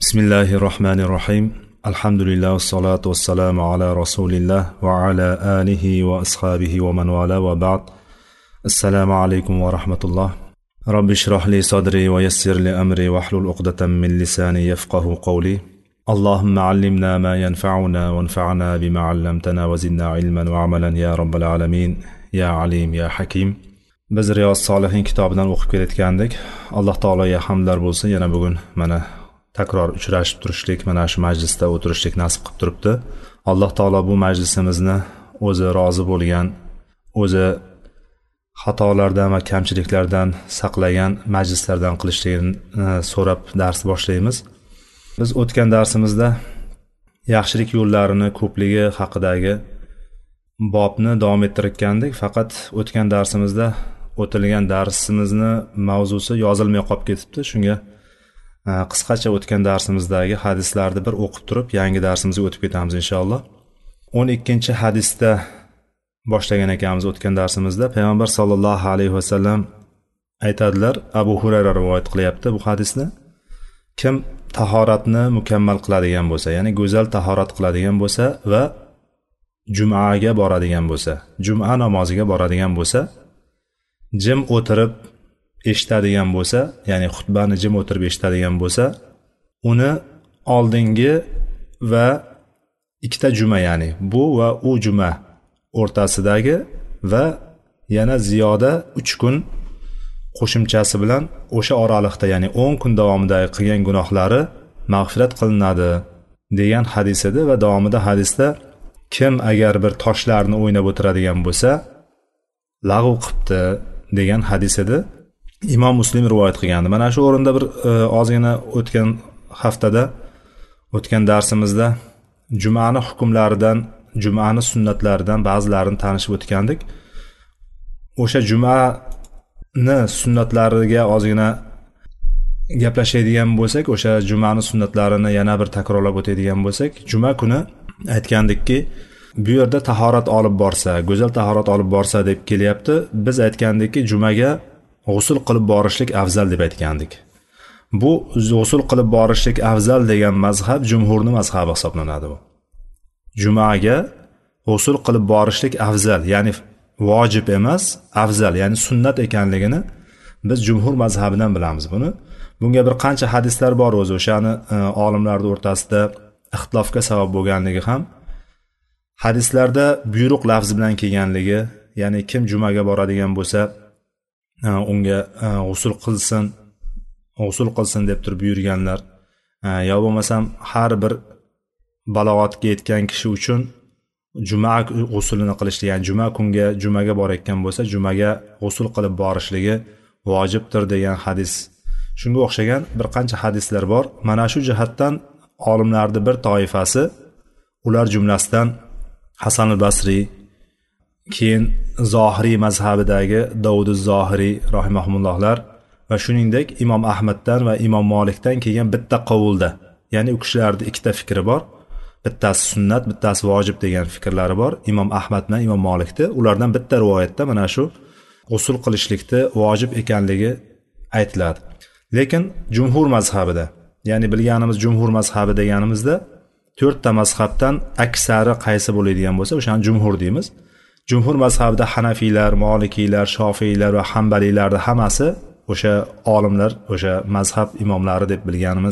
Bismillahirrahmanirrahim. Alhamdulillah vassalatu vassalamu ala rasulillah va ala alihi va ashabihi va man wala va ba'd. Assalomu alaykum va rahmatulloh. Robbi shrah li sadri va yassir li amri wa hlul 'uqdatam min lisani yafqahu qawli. Allahumma 'allimna ma yanfa'una wanfa'na bima 'allamtana wa zidna 'ilman wa 'amalan ya rabbal alamin. Ya alim ya hakim. Biz Riyos Solihin kitobidan o'qib kelayotgandik. Alloh taologa hamdlar bo'lsin. Yana bugun mana takror uchrashib turishlik, mana shu majlisda o'tirishlik nasib qilib turibdi. Alloh taolo bu majlisimizni o'zi rozi bo'lgan, o'zi xatolardan va kamchiliklardan saqlagan majlislardan qilishligini so'rab dars boshlaymiz. Biz o'tgan darsimizda yaxshilik yo'llarini ko'pligi haqidagi bobni davom ettirgandik. Faqat o'tgan darsimizda o'tilgan darsimizni mavzusi yozilmay qolib ketibdi. Shunga qisqacha o'tgan darsimizdagi hadislarni bir o'qib turib, yangi darsimizga o'tib ketamiz inshaalloh. 12-hadisda boshlagan ekanmiz o'tgan darsimizda. Payg'ambar sollallohu alayhi vasallam aytadilar, Abu Hurayra rivoyat qilyapti bu hadisni. Kim tahoratni mukammal qiladigan bo'lsa, ya'ni go'zal tahorat qiladigan bo'lsa va jumaga boradigan bo'lsa, juma namoziga boradigan bo'lsa, jim o'tirib eshitadigan bo'lsa, ya'ni xutbani jim o'tirib eshitadigan bo'lsa, uni oldingi va ikkita juma, ya'ni bu va u juma o'rtasidagi va yana ziyoda 3 kun qo'shimchasi bilan o'sha oraliqda, ya'ni 10 kun davomida qilgan gunohlari mag'firat qilinadi degan hadis edi. Va davomida hadisda kim agar bir toshlarni o'ynab o'tiradigan bo'lsa, lag'v qilibdi degan hadis edi. Imom Muslim rivoyat qilgandi. Mana shu o'rinda bir ozgina o'tgan haftada, o'tgan darsimizda jumani hukmlaridan, jumani sunnatlaridan ba'zilarini tanishib o'tgandik. O'sha jumani sunnatlariga ozgina gaplashadigan bo'lsak, o'sha jumani sunnatlarini yana bir takrorlab o'tadigan bo'lsak, juma kuni aytgandikki, bu yerda tahorat olib borsa, go'zal tahorat olib borsa deb kelyapti. Biz aytgandikki, jumaga g'usul qilib borishlik afzal deb aytgandik. Bu g'usul qilib borishlik afzal degan mazhab jumhurning mazhabi hisoblanadi. Bu jumaga g'usul qilib borishlik afzal, ya'ni vojib emas, afzal, ya'ni sunnat ekanligini biz jumhur mazhabidan bilamiz buni. Bunga bir qancha hadislar bor o'zi, o'shani olimlarning o'rtasida ixtilofga sabab bo'lganligi ham hadislarda buyruq lafzi bilan kelganligi, ya'ni kim jumaga boradigan bo'lsa unga g'usul qilsin deb turib buyurganlar, yo bo'lmasam har bir balog'atga yetgan kishi uchun juma g'usulini qilishlik, ya'ni juma kunga jumaga borayotgan bo'lsa jumaga g'usul qilib borishligi vojibdir degan hadis. Shunga o'xshagan bir qancha hadislar bor. Mana shu jihatdan olimlarning bir toifasi, ular jumlasidan Hasan al-Basri, keyin Zohiriy mazhabidagi Davud az-Zohiriy rahimahumullohlar va shuningdek Imom Ahmaddan va Imom Malikdan kelgan bitta qovulda, ya'ni u kishilarning ikkita fikri bor. Bittasi sunnat, bittasi vojib degan fikrlari bor. Imom Ahmad bilan Imom Malikda, ulardan bitta rivoyatda mana shu g'usul qilishlikda vojib ekanligi aytiladi. Lekin jumhur mazhabida, ya'ni bilganimiz jumhur mazhabi deganimizda 4 ta mazhabdan aksari qaysi bo'ladigan bo'lsa, o'shani jumhur deymiz. Jumhur mazhabida Hanafiylar, Molikiylar, Shofiylar va Hanbaliylarning hammasi o'sha olimlar, o'sha mazhab imomlari deb bilganimiz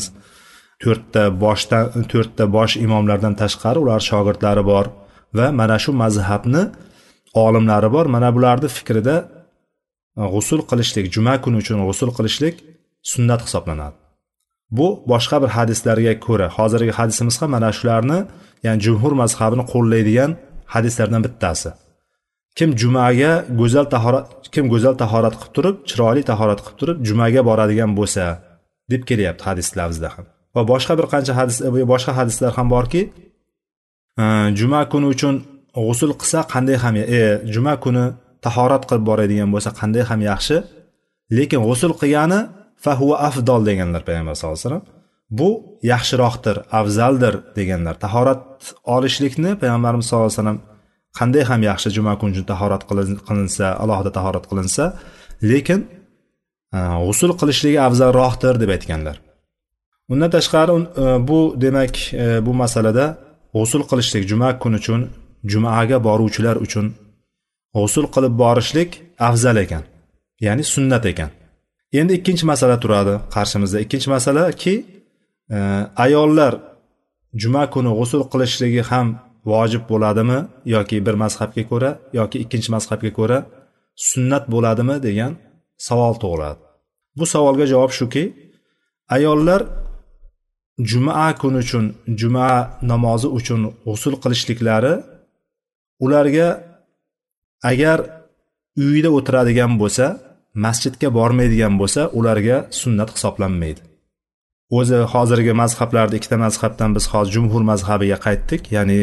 4 ta bosh imomlardan tashqari ular shogirdlari bor va mana shu mazhabni olimlari bor. Mana bularning fikrida g'usul qilishlik, juma kuni uchun g'usul qilishlik sunnat hisoblanadi. Bu boshqa bir hadislarga ko'ra, hozirgi hadisimiz ham mana shularni, ya'ni jumhur mazhabini qo'llaydigan hadislardan bittasi. Kim jumaga go'zal tahorat qilib turib, chiroyli tahorat qilib turib jumaga boradigan bo'lsa deb kelyapti hadis lafzida ham. Va boshqa bir qancha boshqa hadislar ham borki, juma kuni uchun g'usul qilsa qanday ham juma kuni tahorat qilib boradigan bo'lsa qanday ham yaxshi, lekin g'usul qilgani fa huwa afdal deganlar payg'ambar sollallohu alayhi vasallam. Bu yaxshiroqdir, afzaldir deganlar. Tahorat olishlikni payg'ambarimiz sollallohu alayhi vasallam qanday ham yaxshi, juma kuni uchun tahorat qilinsa, alohida tahorat qilinsa, lekin g'usul qilishligi afzalroqdir deb aytganlar. Undan tashqari bu demak bu masalada g'usl qilishlik juma kuni uchun, jumaga boruvchilar uchun g'usl qilib borishlik afzal ekan, ya'ni sunnat ekan. Endi ikkinchi masala turadi qarshimizda. Ikkinchi masalaki ayollar juma kuni g'usl qilishligi ham vojib bo'ladimi yoki bir mazhabga ko'ra yoki ikkinchi mazhabga ko'ra sunnat bo'ladimi degan savol tug'iladi. Bu savolga javob shuki, ayollar juma kuni uchun, juma namozi uchun g'usl qilishliklari ularga agar uyida o'tiradigan bo'lsa, masjidga bormaydigan bo'lsa, ularga sunnat hisoblanmaydi. O'zi hozirgi mazhablarda ikkita mazhabdan biz hozir jumhur mazhabiga qaytdik, ya'ni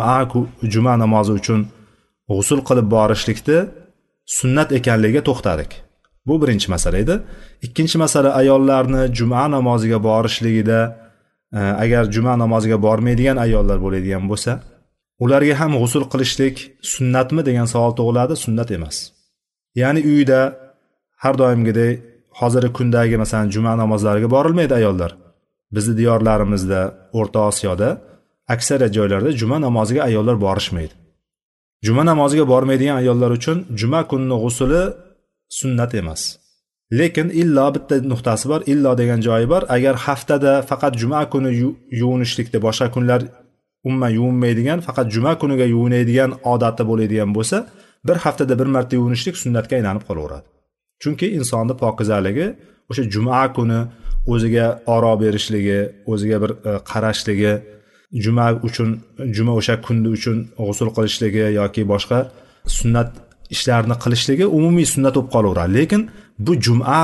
juma namozi uchun g'usl qilib borishlikni sunnat ekanligiga to'xtadik. Bu birinchi masala edi. Ikkinchi masala, ayollarni juma namoziga borishligida agar juma namoziga bormaydigan ayollar bo'ladigan bo'lsa, ularga ham g'usl qilishlik sunnatmi degan savol tug'iladi. Sunnat emas. Ya'ni uyda har doimgidek hozirgi kundagi masalan juma namozlariga borilmaydi ayollar. Bizning diyorlarimizda, O'rta Osiyoda aksariyat joylarda juma namoziga ayollar borishmaydi. Juma namoziga bormaydigan ayollar uchun juma kunining g'usli sunnat emas. Lekin illo bitta nuqtasi bor, illo degan joyi bor. Agar haftada faqat juma kuni yuvinishlikda, boshqa kunlar umuman yuvinmaydigan, faqat juma kuniga yuvinadigan odati bo'ladigan bo'lsa, bir haftada bir marta yuvinishlik sunnatga aylanib qolaveradi. Chunki insonning pokizaligi o'sha juma kuni o'ziga oro berishligi, o'ziga bir qarashligi, juma uchun, juma o'sha kunda uchun g'usl qilishligi yoki boshqa sunnat ishlarni qilishligi umumiy sunnat bo'lib qolaveradi. Lekin bu juma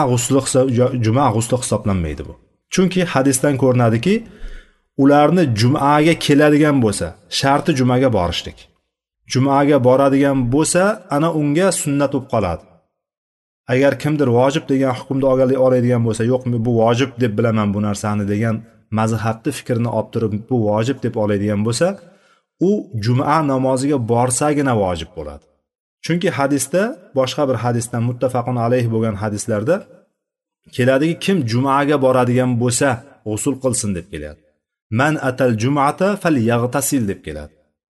g'usli hisoblanmaydi bu. Chunki hadisdan ko'rinadiki, ularni jumaga keladigan bo'lsa, sharti jumaga borishlik. Jumaga boradigan bo'lsa, ana unga sunnat bo'lib qoladi. Agar kimdir vojib degan hukmni oladigan bo'lsa, yo'q bu vojib deb bilaman bu narsani degan mazhabni fikrini olib turib bu vojib deb oladigan bo'lsa, u juma namoziga borsagina vojib bo'ladi. Chunki hadisda, boshqa bir hadisdan muttafaqun alayh bo'lgan hadislarda keladiki, kim jumaga boradigan bo'lsa g'usl qilsin deb keladi. Man atal jum'ata falyaghtasil deb keladi.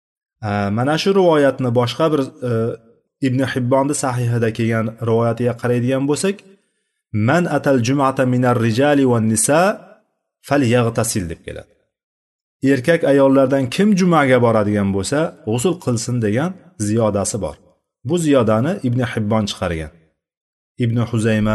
Mana shu rivoyatni boshqa bir Ibn Hibbonning sahihida kelgan rivoyatiga qaraydigan bo'lsak, man atal jum'ata minar rijali wan nisa falyaghtasil deb keladi. Erkak ayollardan kim jumaga boradigan bo'lsa, g'usl qilsin degan ziyodasi bor. Bu ziyodani Ibn Hibbon chiqargan. Ibn Huzayma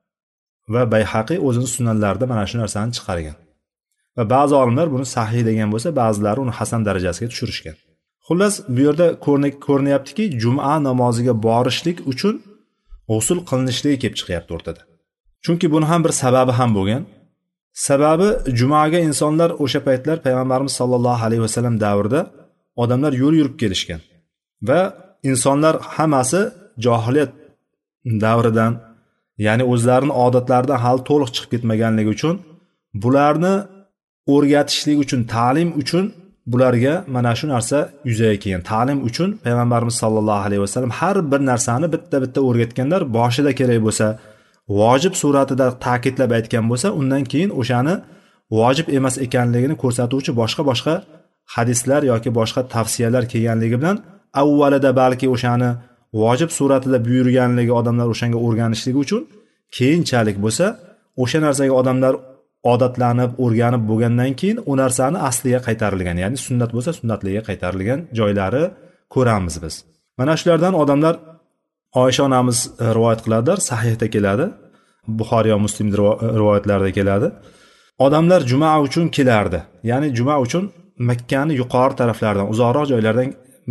va Bayhaqi o'zining sunanlarida mana shu narsani chiqargan. Va ba'zi olimlar buni sahih degan bo'lsa, ba'zilari uni hasan darajasiga tushirishgan. Xullas, bu yerda ko'rinyaptiki, juma namoziga borishlik uchun g'usl qilinishligi kelib chiqyapti o'rtada. Chunki buni ham bir sababi ham bo'lgan. Sababi jumaga insonlar o'sha paytlar payg'ambarimiz sollallohu alayhi vasallam davrida odamlar yo'l yurib kelishgan va insonlar hammasi johiliyat davridan, ya'ni o'zlarining odatlaridan hali to'liq chiqib ketmaganligi uchun bularni o'rgatishlik uchun, ta'lim uchun bularga mana shu narsa yuzaga kelgan. Ta'lim uchun payg'ambarimiz sollallohu alayhi vasallam har bir narsani bitta-bitta o'rgatganlar. Boshida kerak bo'lsa vojib suratida ta'kidlab aytgan bo'lsa, undan keyin o'shani vojib emas ekanligini ko'rsatuvchi boshqa hadislar yoki boshqa tavsiyalar kelganligi bilan avvalida balki o'shani vojib suratida buyurganligi odamlar o'shanga o'rganishligi uchun keyinchalik bo'lsa o'sha narsaga odamlar odatlanib, o'rganib bo'lgandan keyin u narsani asliga qaytarilgan, ya'ni sunnat bo'lsa sunnatligiga qaytarilgan joylari ko'ramiz biz. Mana shulardan odamlar, Oysha onamiz rivoyat qiladilar, sahihda keladi, Buxoriy va Muslim rivoyatlarida keladi. Odamlar juma uchun kelardi. Ya'ni juma uchun Makkani yuqori taraflaridan, uzoqroq joylardan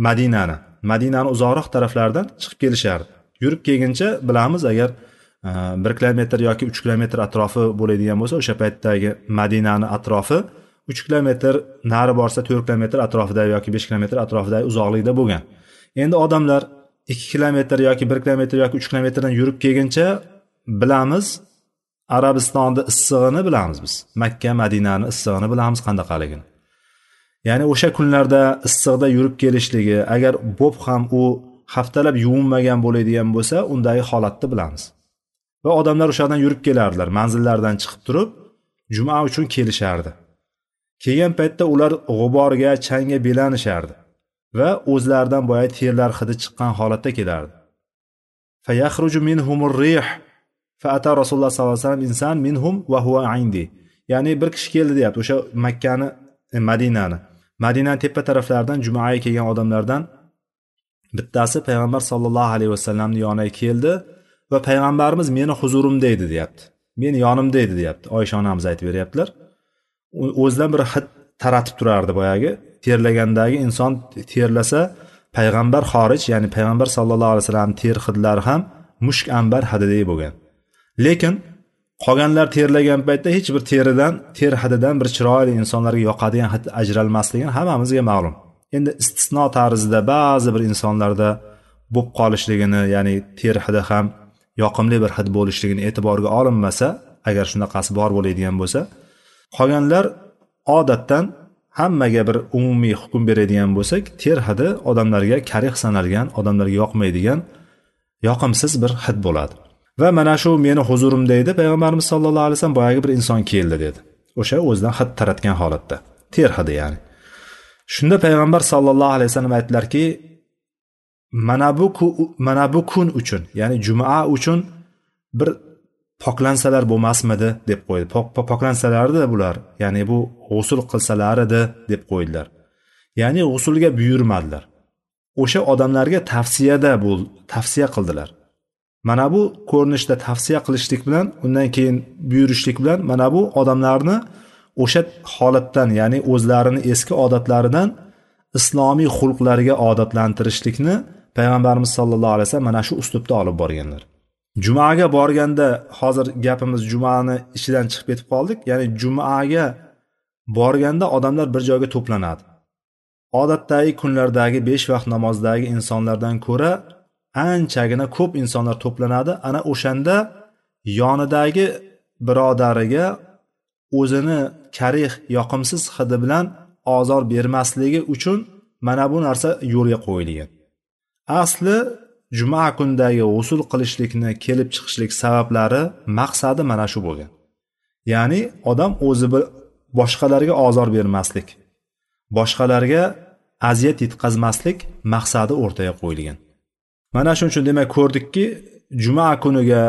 Madinani uzoqroq taraflaridan chiqib kelishardi. Yurib kelguncha bilamiz, agar 1 kilometr yoki 3 kilometr atrofi bo'ladigan bo'lsa, o'sha paytdagi Madinani atrofi 3 kilometr nari borsa 4 kilometr atrofida yoki 5 kilometr atrofida uzoqlikda bo'lgan. Endi odamlar 2 kilometr yoki 1 kilometr yoki 3 kilometrdan yurib kelguncha bilamiz, Arabistonda issig'ini bilamiz biz. Makka, Madinani issig'ini bilamiz qandaqaligini. Ya'ni o'sha kunlarda issiqda yurib kelishligi, agar bo'p ham u haftalab yuvinmagan bo'ladigan bo'lsa, undagi holatni bilamiz. Va odamlar o'shadan yurib kelardilar, manzillaridan chiqib turib, juma uchun kelishardi. Kelgan paytda ular g'uborga, changga belanishardi va o'zlaridan boya terlar hidi chiqqan holatda kelardi. Fayakhruju minhumur rih fa ata Rasululloh sollallohu alayhi vasallam inson minhum va huwa indi. Ya'ni bir kishi keldi deyapti. O'sha Makkani, Madinani tepa taraflaridan jumaga kelgan odamlardan bittasi payg'ambar sollallohu alayhi vasallamning yoniga keldi va payg'ambarimiz meni huzurimda edi deyapti. Meni yonimda edi deyapti. Oysha onamiz aytib beryaptilar. O'zidan bir hid taratib turardi boyagi. Terlagandagi inson terlasa payg'ambar xorij, ya'ni payg'ambar sollallohu alayhi vasallam ter hidlari ham mushk ambar hididek bo'lgan. Lekin qolganlar terlagan paytda hech bir ter hididan bir chiroyli insonlarga yoqadigan hid ajralmasligini hammamizga ma'lum. Endi istisno tarzida ba'zi bir insonlarda bo'lib qolishligini, ya'ni ter hidi ham yoqimli bir hid bo'lishligini e'tiborga olinmasa, agar shunaqasi bor bo'ladigan bo'lsa, qolganlar odatdan hammaga bir umumiy hukm beradigan bo'lsak, ter hidi odamlarga karih sanalgan, odamlarga yoqmaydigan yoqimsiz bir hid bo'ladi. Va mana shu meni huzurimda edi, payg'ambarimiz sollallohu alayhi vasallam boyagi bir inson keldi dedi. O'sha o'zidan hid taratgan holatda, ter hidi ya'ni. Shunda payg'ambar sollallohu alayhi vasallam aytdilarki, mana bu kun uchun, ya'ni juma uchun bir poklansalar bo'lmasmidi deb qo'ydi. Poklansalardi bular, ya'ni bu g'usl qilsalar edi deb qo'ydilar. Ya'ni g'usulga buyurmadilar. O'sha odamlarga tavsiya qildilar. Mana bu ko'rinishda tavsiya qilishlik bilan, undan keyin buyurishlik bilan mana bu odamlarni o'sha holatdan, ya'ni o'zlarini eski odatlaridan islomiy xulqlarga odatlantirishlikni payg'ambarimiz sollallohu alayhi vasallam mana shu uslubda olib borganlar. Jumaga borganda, hozir gapimiz jumani ichidan chiqib ketib qoldik. Ya'ni jumaga borganda odamlar bir joyga to'planadi. Odatdagi kunlardagi 5 vaqt namozdagi insonlardan ko'ra anchagina ko'p insonlar to'planadi. Ana o'shanda yonidagi birodariga o'zini karih, yoqimsiz hidi bilan ozor bermasligi uchun mana bu narsa yo'lga qo'yilgan. Asli juma kunidagi g'usul qilishlikni kelib chiqishlik sabablari, maqsadi mana shu bo'lgan. Ya'ni odam o'zi boshqalarga ozor bermaslik, boshqalarga aziyat yetkazmaslik maqsadi o'rtaga qo'yilgan. Mana shuning uchun demak ko'rdikki, juma kuniga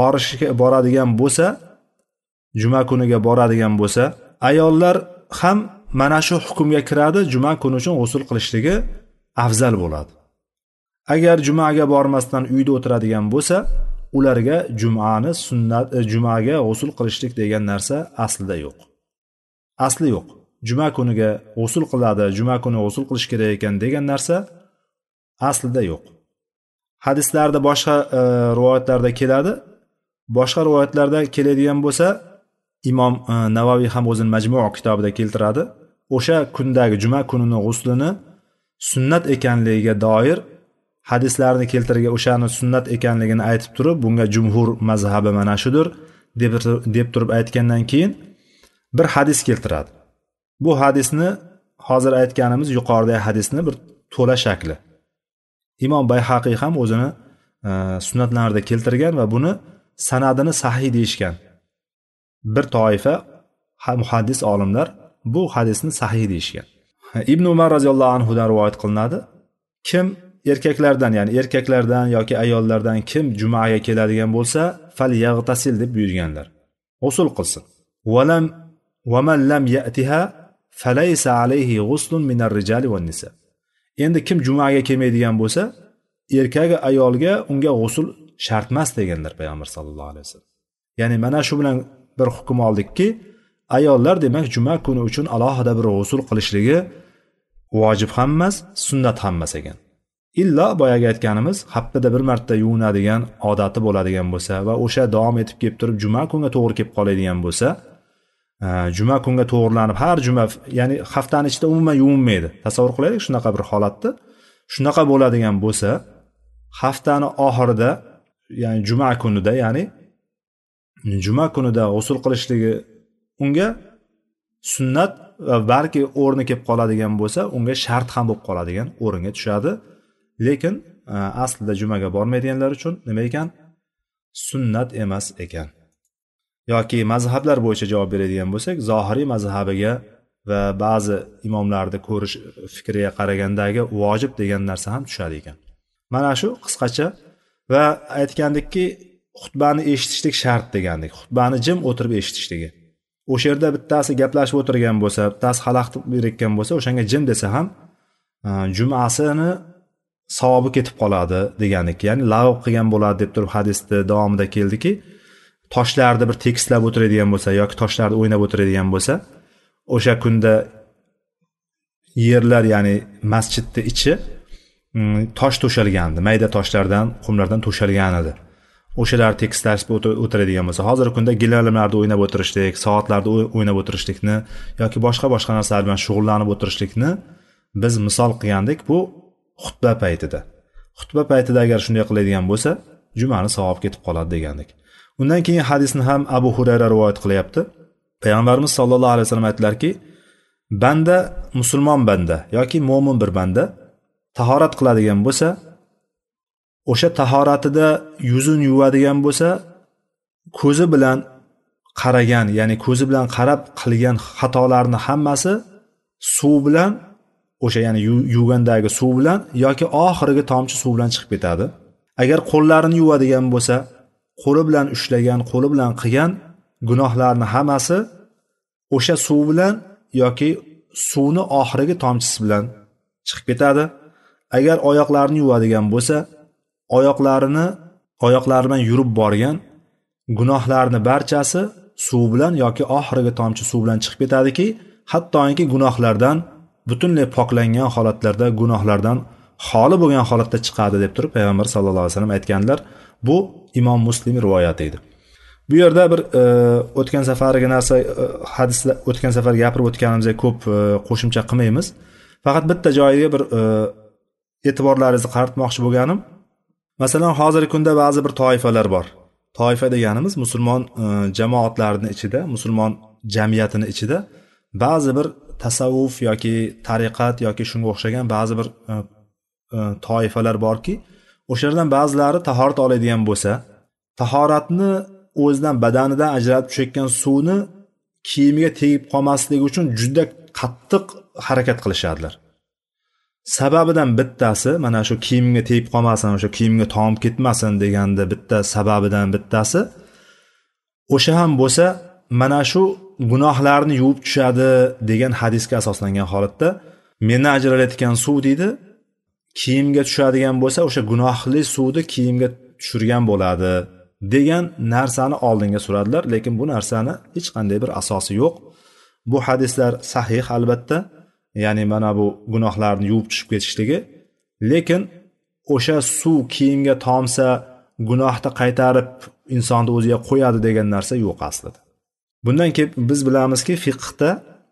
boradigan bo'lsa, ayollar ham mana shu hukmga kiradi, juma kuni uchun g'usul qilishligi afzal bo'ladi. Agar jumaga bormasdan uyda o'tiradigan bo'lsa, ularga jumaga g'usul qilishlik degan narsa aslida yo'q. Asli yo'q. Juma kuniga g'usul qiladi, juma kuni g'usul qilish kerak ekan degan narsa aslida yo'q. Hadislarda boshqa rivoyatlarda keladi. Boshqa rivoyatlarda keladigan bo'lsa, Imom Navaviy ham o'zining Majmu' kitobida keltiradi. O'sha kundagi juma kunining g'uslini sunnat ekanligiga doir hadislarni keltirgan, o'shani sunnat ekanligini aytib turib, bunga jumhur mazhabi mana shudir deb turib aytgandan keyin bir hadis keltiradi. Bu hadisni hozir aytganimiz yuqoridagi hadisni bir to'la shakli. Imom Bayhaqiy ham o'zini sunnatlarida keltirgan va buni sanadini sahih deyishgan. Bir toifa muhaddis olimlar bu hadisni sahih deyishgan. Ibn Umar roziyallohu anhu dan rivoyat qilinadi. Kim erkaklardan yoki ayollardan kim jumaga keladigan bo'lsa, fal yag'tasil deb buyurganlar. G'usul qilsin. Va man lam ya'tiha falaysa alayhi ghuslun minar rijali wan nisa. Endi kim jumaga kelmaydigan bo'lsa, erkak ayolga unga g'usul shart emas deganlar payg'ambar sollallohu alayhi vasallam. Ya'ni mana shu bilan bir hukm oldikki, ayollar demak juma kuni uchun alohida bir g'usul qilishligi vojib ham emas, sunnat ham emas ekan. Illa boyaga aytganimiz haftada bir marta yuvinadigan odati bo'ladigan bo'lsa va o'sha davom etib kelib turib juma kunga to'g'ri kelib qoladigan bo'lsa, juma kunga to'g'rilanib har juma, ya'ni haftaning ichida umuman yuvinmaydi. Tasavvur qilaylik shunaqa bir holatda. Shunaqa bo'ladigan bo'lsa, haftani oxirida, ya'ni juma kunida g'usul qilishligi unga sunnat va balki o'rni kelib qoladigan bo'lsa, unga shart ham bo'lib qoladigan o'ringa tushadi. Lekin aslida jumaga bormaydiganlar uchun nima ekan? Sunnat emas ekan. yoki mazhablar bo'yicha javob beradigan bo'lsak, zohiriy mazhabiga va ba'zi imomlarni ko'rish fikriga qaragandagi vojib degan narsa ham tushadi ekan. Mana shu qisqacha. Va aytgandikki, xutbani eshitishlik shart degandik. Xutbani jim o'tirib eshitishligi. O'sha yerda bittasi gaplashib o'tirgan bo'lsa, bittasi xalaqit berayotgan bo'lsa, o'shanga jim desa ham jumasini savobi ketib qoladi degandik. Ya'ni lag'v qilgan bo'ladi deb turib hadisda davomida keldiki, toshlarni bir tekislab o'tiradigan bo'lsa yoki toshlarni o'ynab o'tiradigan bo'lsa, o'sha kunda yerlar, ya'ni masjidning ichi tosh to'shalgandi, mayda toshlardan, qumlardan to'shalgan edi. O'shalar tekislashib o'tiradigan bo'lsa, hozirgi kunda gilamlarda o'ynab o'tirishlik, soatlarda o'ynab o'tirishlikni yoki boshqa narsalar bilan shug'ullanib o'tirishlikni biz misol qilgandik bu xutba paytida. Xutba paytida agar shunday qiladigan bo'lsa, jumani savob ketib qoladi degandik. Undan keyin hadisni ham Abu Hurayra rivoyat qilyapti. Payg'ambarimiz sollallohu alayhi vasallam aytdilarki, banda, musulmon banda yoki mo'min bir banda tahorat qiladigan bo'lsa, o'sha tahoratida yuzini yuvadigan bo'lsa, ko'zi bilan qaragan, ya'ni ko'zi bilan qarab qilgan xatolarni hammasi suv bilan, o'sha ya'ni yuvgandagi suv bilan yoki oxirgi tomchi suv bilan chiqib ketadi. Agar qo'llarini yuvadigan bo'lsa, qo'li bilan ushlagan, qo'li bilan qilgan gunohlarni hammasi o'sha suv bilan yoki suvni oxirgi tomchisi bilan chiqib ketadi. Agar oyoqlarini yuvadigan bo'lsa, oyoqlari bilan yurib borgan gunohlarni barchasi suv bilan yoki oxirgi tomchi suv bilan chiqib ketadiki, hattoki gunohlardan butunlay poklangan holatlarda gunohlardan xoli bo'lgan holatda chiqadi deb turib payg'ambar sallallohu alayhi vasallam aytganlar. Bu Imom Muslim rivoyati edi. Bu yerda bir o'tgan safargi narsa hadislar o'tgan safar gapirib o'tganimizga ko'p qo'shimcha qilmaymiz. Faqat bitta joyiga bir e'tiborlaringizni qaratmoqchi bo'lganim, masalan, hozirgi kunda ba'zi bir toifalar bor. Toifa deganimiz musulmon jamoatlarining ichida, musulmon jamiyatining ichida ba'zi bir tasavvuf yoki tariqat yoki shunga o'xshagan ba'zi bir toifalar borki, o'shalardan ba'zilari tahorat oladigan bo'lsa, tahoratni o'zidan badanidan ajratib tushayotgan suvni kiyimiga tegib qolmasligi uchun juda qattiq harakat qilishadilar. Sababidan bittasi, mana shu kiyimga tegib qolmasin, o'sha kiyimga tomib ketmasin deganda bitta sababidan bittasi o'sha ham bo'lsa, mana shu gunohlarni yuvib tushadi degan hadisga asoslangan holatda meni ajralayotgan suv deydi, kiyimga tushadigan bo'lsa, o'sha gunohli suvni kiyimga tushirgan bo'ladi degan narsani oldinga suradilar, lekin bu narsani hech qanday bir asosi yo'q. Bu hadislar sahih albatta, ya'ni mana bu gunohlarni yuvib tushib ketishligi, lekin o'sha suv kiyimga tomsa gunohni qaytarib insonni o'ziga qo'yadi degan narsa yo'q aslida. Bundan keyin biz bilamizki, fiqhda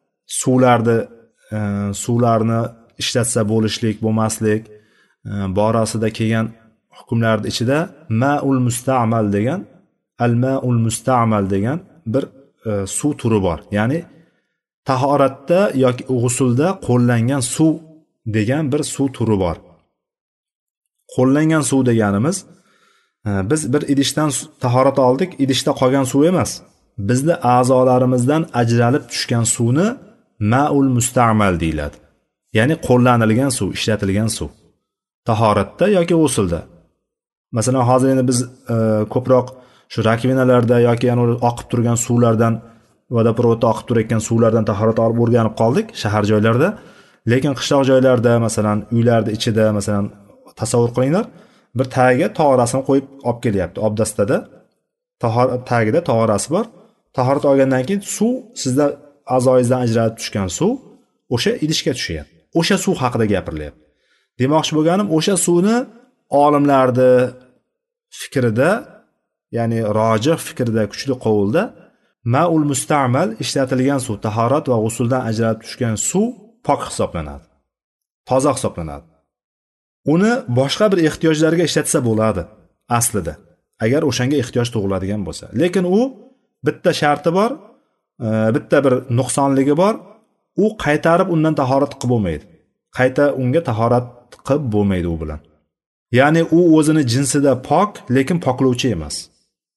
suvlarni ishlatsa bo'lishlik, bo'lmaslik borasida kelgan hukmlar ichida ma'ul musta'mal degan, al-ma'ul musta'mal degan bir suv turi bor. Ya'ni tahoratda yoki g'usulda qo'llangan suv degan bir suv turi bor. Qo'llangan suv deganimiz, biz bir idishdan tahorat oldik, idishda qolgan suv emas. Bizning a'zolarimizdan ajralib tushgan suvni ma'ul musta'mal deyiladi. Ya'ni qo'llanilgan suv, ishlatilgan suv. Tahoratda yoki g'usulda. Masalan, hozir endi biz ko'proq shu rakvinalarda yoki yana oqib turgan suvlardan, vodoprovodda oqib turayotgan suvlardan tahorat olib o'rganib qoldik shahar joylarda. Lekin qishloq joylarda, masalan, uylarda ichida, masalan, tasavvur qilinglar, bir tagiga tog'orasini qo'yib olib kelyapti. Obdastada tagida tog'orasi bor. Tahorat olgandan keyin suv, sizda a'zoyingizdan ajralib tushgan suv o'sha idishga tushyapti. O'sha suv haqida gapirilyapti. Demoqchi bo'lganim, o'sha suvni olimlarning fikrida, ya'ni rojih fikrida, kuchli qovulda ma'ul musta'mal ishlatilgan suv, tahorat va g'usuldan ajralib tushgan suv pok hisoblanadi. Toza hisoblanadi. Uni boshqa bir ehtiyojlarga ishlatsa bo'ladi aslida, agar o'shanga ehtiyoj tug'iladigan bo'lsa. Lekin u bitta sharti bor, bitta bir nuqsonligi bor. U qaytarib undan tahorat qilib bo'lmaydi. Qayta unga tahorat qilib bo'lmaydi u bilan. Ya'ni u o'zini jinsida pok, lekin poklovchi emas.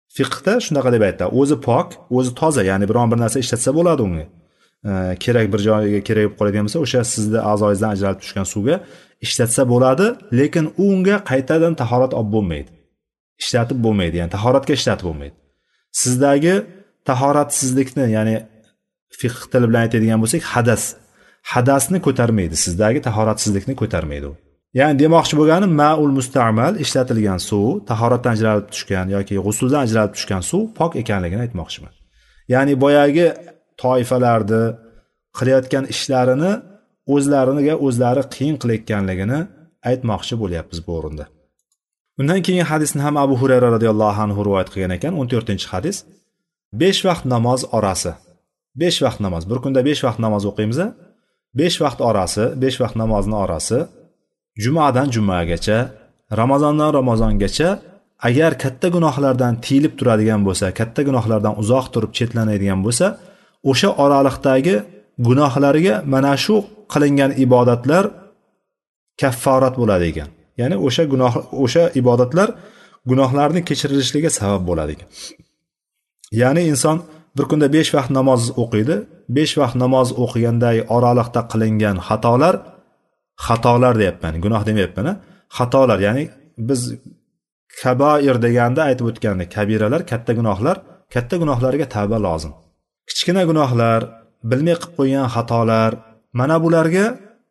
Fiqhda shunaqa deb aytadi, o'zi pok, o'zi toza, ya'ni biron bir narsa ishlatsa bo'ladi unga. Kerak bir joyiga kerak bo'lib qoladigan bo'lsa, o'sha sizni a'zoyingizdan ajralib tushgan suvga ishlatsa bo'ladi, lekin unga qaytadan tahorat olib bo'lmaydi. Ishlatib bo'lmaydi, ya'ni tahoratga ishlatib bo'lmaydi. Sizdagi tahoratsizlikni, ya'ni fiqh tili bilan aytadigan bo'lsak, hadasni ko'tarmaydi, sizdagi tahoratsizlikni ko'tarmaydi u. Ya'ni demoqchi bo'lgani ma'ul musta'mal, ishlatilgan suv, tahoratdan ajralib tushgan yoki g'usuldan ajralib tushgan suv pok ekanligini aytmoqchiman. Ya'ni boyagi toifalarni qilayotgan ishlarini o'zlari qiyin qilayotganligini aytmoqchi bo'lyapmiz bu o'rinda. Undan keyingi hadisni ham Abu Hurayra radhiyallohu anhu rivoyat qilgan ekan, 14-hadis. 5 vaqt namoz orasi. 5 vaqt namoz. Bir kunda 5 vaqt namoz o'qiymiz. 5 vaqt orasi, 5 vaqt namozning orasi jumadan jumagacha, ramazondan ramazongacha agar katta gunohlardan tiyilib turadigan bo'lsa, katta gunohlardan uzoq turib chetlanadigan bo'lsa, o'sha oraliqdagi gunohlariga mana shu qilingan ibodatlar kafforat bo'ladi ekan. Ya'ni o'sha ibodatlar gunohlarning kechirilishiga sabab bo'ladi ekan. Ya'ni inson bir kunda 5 vaqt namoz o'qiydi. 5 vaqt namoz o'qigandagi oraliqda qilingan xatolar deyapman, gunoh demayapman, xatolar, ya'ni biz kabair deganda aytib o'tgandek, kabiralar, katta gunohlarga tavba lozim. Kichkina gunohlar, bilmay qilib qo'ygan xatolar, mana bularga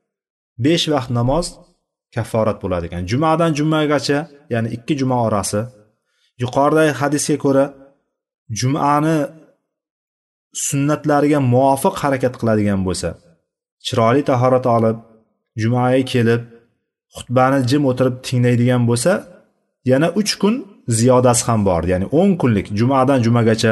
5 vaqt namoz kafforat bo'ladi ekan. Jumadan jumagacha, ya'ni 2 juma orasi. Yuqoridagi hadisga ko'ra jumani sunnatlariga muvofiq harakat qiladigan bo'lsa, chiroyli tahorat olib, jumaga kelib, xutbani jim o'tirib tinglaydigan bo'lsa, yana 3 kun ziyodasi ham bor. Ya'ni 10 kunlik jumadan jumagacha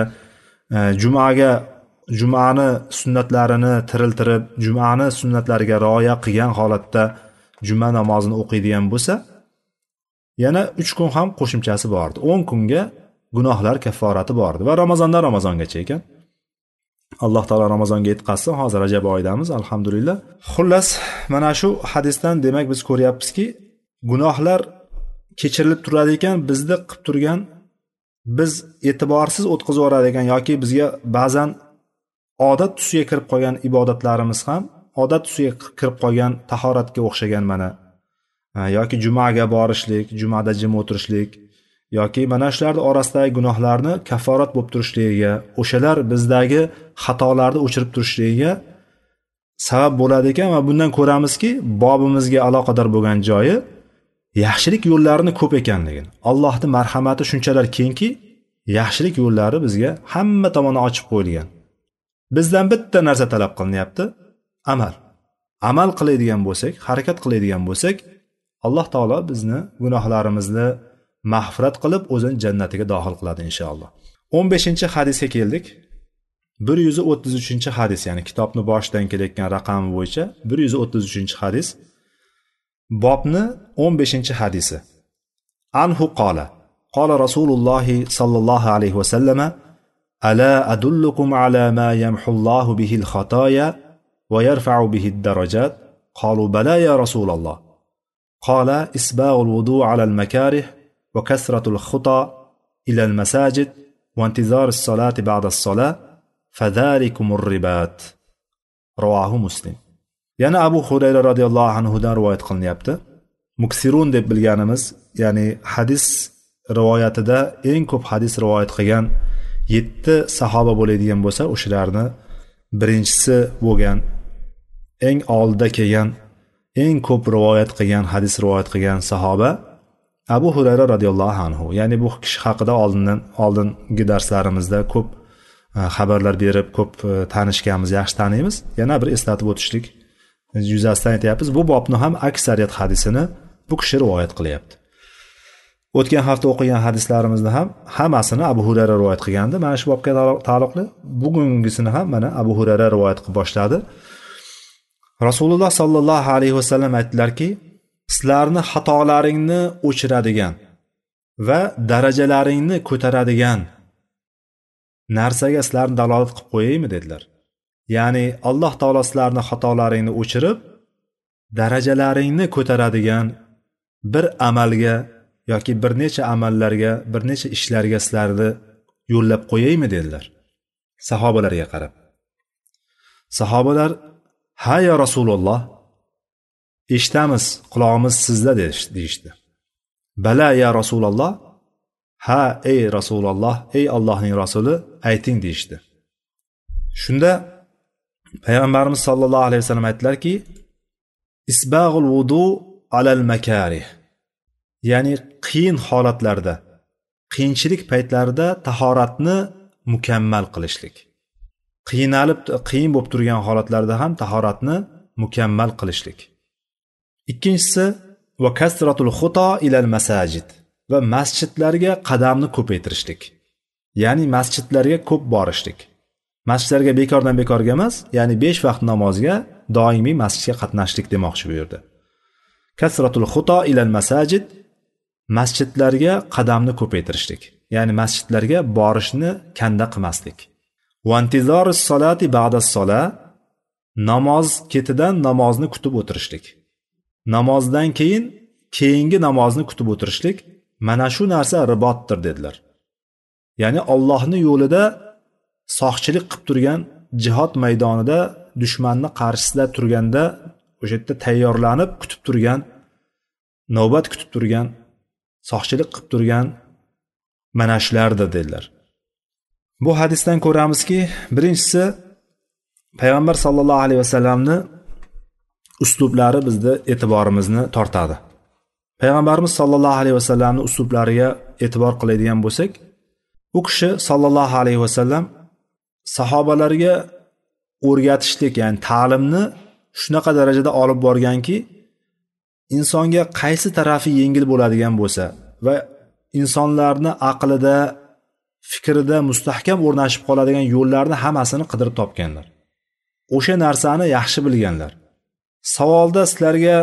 jumani sunnatlarini tiriltirib, jumani sunnatlariga rioya qilgan holatda juma namozini o'qiydigan bo'lsa, yana 3 kun ham qo'shimchasi bor. 10 kunga gunohlar kafforati bor va Ramazondan Ramazongacha ekan. Alloh taolo Ramazonga yetqazsin. Hozir Rajab oyidamiz, alhamdulillah. Xullas, mana shu hadisdan demak biz ko'ryapmizki, gunohlar kechirilib turadi ekan, bizni qilib turgan, biz e'tiborsiz o'tkazib yuboradigan yoki bizga ba'zan odat tusiga kirib qolgan ibodatlarimiz ham, odat tusiga kirib qolgan tahoratga o'xshagan mana yoki jumaga borishlik, jumada jim o'tirishlik yoki mana shular orasidagi gunohlarni kafforat bo'lib turishligiga, o'shalar bizdagi xatolarni o'chirib turishligiga sabab bo'ladi ekan va bundan ko'ramizki, bobimizga aloqador bo'lgan joyi yaxshilik yo'llarini ko'p ekanligini. Allohning marhamati shunchalar kengki, yaxshilik yo'llari bizga hamma tomoni ochib qo'yilgan. Bizdan bitta narsa talab qilinyapti, amal qiladigan bo'lsak, harakat qiladigan bo'lsak, Alloh taolo bizni gunohlarimizni mag'firat qilib o'zini jannatiga dohil qiladi inshaalloh. 15-hadisga keldik. 133-hadis, ya'ni kitobni boshidan kelayotgan raqami bo'yicha 133-hadis. Bobni 15-hadisi. Anhu qala Rasululloh sallallohu alayhi va sallam: "Ala adullukum ala ma yamhullohu bihi al-khataaya wa yarfa'u bihi ad-darajat?" Qalu bala ya Rasululloh. Qala isbaghu al-wudu' ala al-makarih wa kasratu al-khuta ila al-masajid wa intizar as-salati ba'da as-salah fadhalikum ar-ribat. Rawahu Muslim. Yana Abu Hurayra radhiyallohu anhu dan rivoyat qilinyapti. Muksirun deb bilganimiz, ya'ni hadis rivoyatida eng ko'p hadis rivoyat qilgan 7 sahoba bo'ladigan bo'lsa, o'shalarni birinchisi bo'lgan, eng oldida kelgan, eng ko'p rivoyat qilgan, hadis rivoyat qilgan sahoba Abu Hurayra radhiyallohu anhu. Ya'ni bu kishi haqida oldingi darslarimizda ko'p xabarlar berib, ko'p tanishganmiz, yaxshi taniymiz. Yana bir eslatib o'tishlik yuzasidan aytyapmiz. Bu bobni ham aksariyat hadisini bu kishi rivoyat qilyapti. O'tgan hafta o'qigan hadislarimizni ham hammasini Abu Hurayra rivoyat qilgandi. Mana shu bobga taalluqli bugungisini ham mana Abu Hurayra rivoyat qilib boshladi. Rasululloh sallallohu alayhi vasallam aytdilarki, sizlarni xatolaringni o'chiradigan va darajalaringni ko'taradigan narsaga sizlarni dalolat qilib qo'yaymi dedilar. Ya'ni Alloh taolo sizlarni xatolaringni o'chirib, darajalaringni ko'taradigan bir amalga yoki bir necha amallarga, bir necha ishlarga sizlarni yo'llab qo'yaymi dedilar sahobalarga qarab. Sahobalar ha ya Rasululloh, eshitamiz, quloqimiz sizda deyishdi. Bala ya Rasululloh, ha ey Rasululloh, ey Allohning rasuli ayting deyishdi. Shunda payg'ambarimiz sollallohu alayhi vasallam aytdilarki, isbag'ul vudu alal makarih, ya'ni qiyin holatlarda, qiyinchilik paytlarida tahoratni mukammal qilishlik. Qiyin bo'lib turgan holatlarda ham tahoratni mukammal qilishlik. Ikkinchisi va kasratul xuto ilal masajid, va masjidlarga qadamni ko'paytirishlik. Ya'ni masjidlarga ko'p borishlik. Masjidlarga bekordan bekorga emas, ya'ni 5 vaqt namozga doimiy masjidga qatnashlik demoqchi bu yerda. Kasratul xuto ilal masajid, masjidlarga qadamni ko'paytirishlik. Ya'ni masjidlarga borishni kanda qilmaslik. Va intizorus solati ba'das sola, namoz ketidan namozni kutib o'tirishlik. Namozdan keyingi namozni kutib o'tirishlik, mana shu narsa ribotdir dedilar. Ya'ni Allohning yo'lida soqchilik qilib turgan, jihod maydonida dushmanning qarshisida turganda o'sha yerda tayyorlanib kutib turgan, navbat kutib turgan, soqchilik qilib turgan mana shulardir dedilar. Bu hadisdan ko'ramizki, birinchisi payg'ambar sollallohu alayhi vasallamni uslublari bizni e'tiborimizni tortadi. Payg'ambarimiz sollallohu alayhi vasallamni uslublariga e'tibor qiladigan bo'lsak, u kishi sollallohu alayhi vasallam sahobalarga o'rgatishlik, ya'ni ta'limni shunaqa darajada olib borganki, insonga qaysi tarafi yengil bo'ladigan bo'lsa va insonlarni aqlida, fikrida mustahkam o'rnashib qoladigan yo'llarni hammasini qidirib topganlar. O'sha narsani yaxshi bilganlar. Savolda sizlarga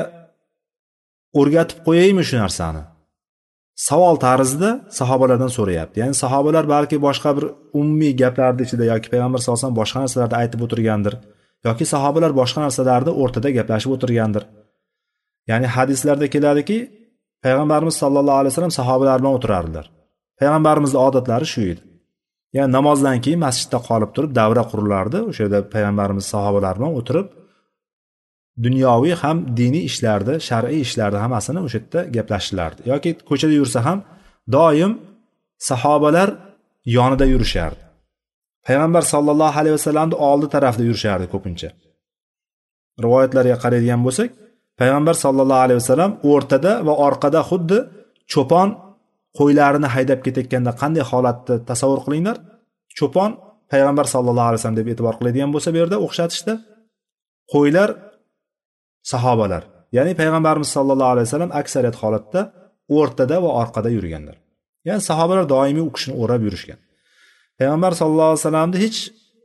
o'rgatib qo'yaymi shu narsani? Savol tarzida sahobalardan so'rayapti. Ya'ni sahobalar balki boshqa bir umumiy gaplarning ichida yoki payg'ambar sollallohu alayhi vasallam boshqa narsalarda aytib o'tirgandir, yoki sahobalar boshqa narsalarda o'rtada gaplashib o'tirgandir. Ya'ni hadislarda keladiki, payg'ambarimiz sollallohu alayhi vasallam sahobalar bilan o'tirardilar. Payg'ambarimizning odatlari shu edi. Ya'ni namozdan keyin masjidda qolib turib davra qurilardi. O'sha yerda payg'ambarimiz sahobalar bilan o'tirib dunyoviy ham diniy ishlarda, shar'iy ishlarda hammasini o'sha yerda gaplashirlardi. Yoki ko'chada yursa ham doim sahobalar yonida yurishardi. Payg'ambar sollallohu alayhi vasallamning oldi tarafida yurishardi ko'pincha. Rivoyatlarga qaraydigan bo'lsak, payg'ambar sollallohu alayhi vasallam o'rtada va orqada xuddi cho'pon qo'ylarini haydab ketayotganda qanday holatni tasavvur qilinglar. Cho'pon payg'ambar sollallohu alayhi vasallam deb e'tibor qiladigan bo'lsa, bu yerda o'xshatishda qo'ylar sahobalar. Ya'ni payg'ambarimiz sollallohu alayhi vasallam aksariyat holatda o'rtada va orqada yurganlar. Ya'ni sahobalar doimiy u kishini o'rab yurishgan. Payg'ambar sollallohu alayhi vasallamni hech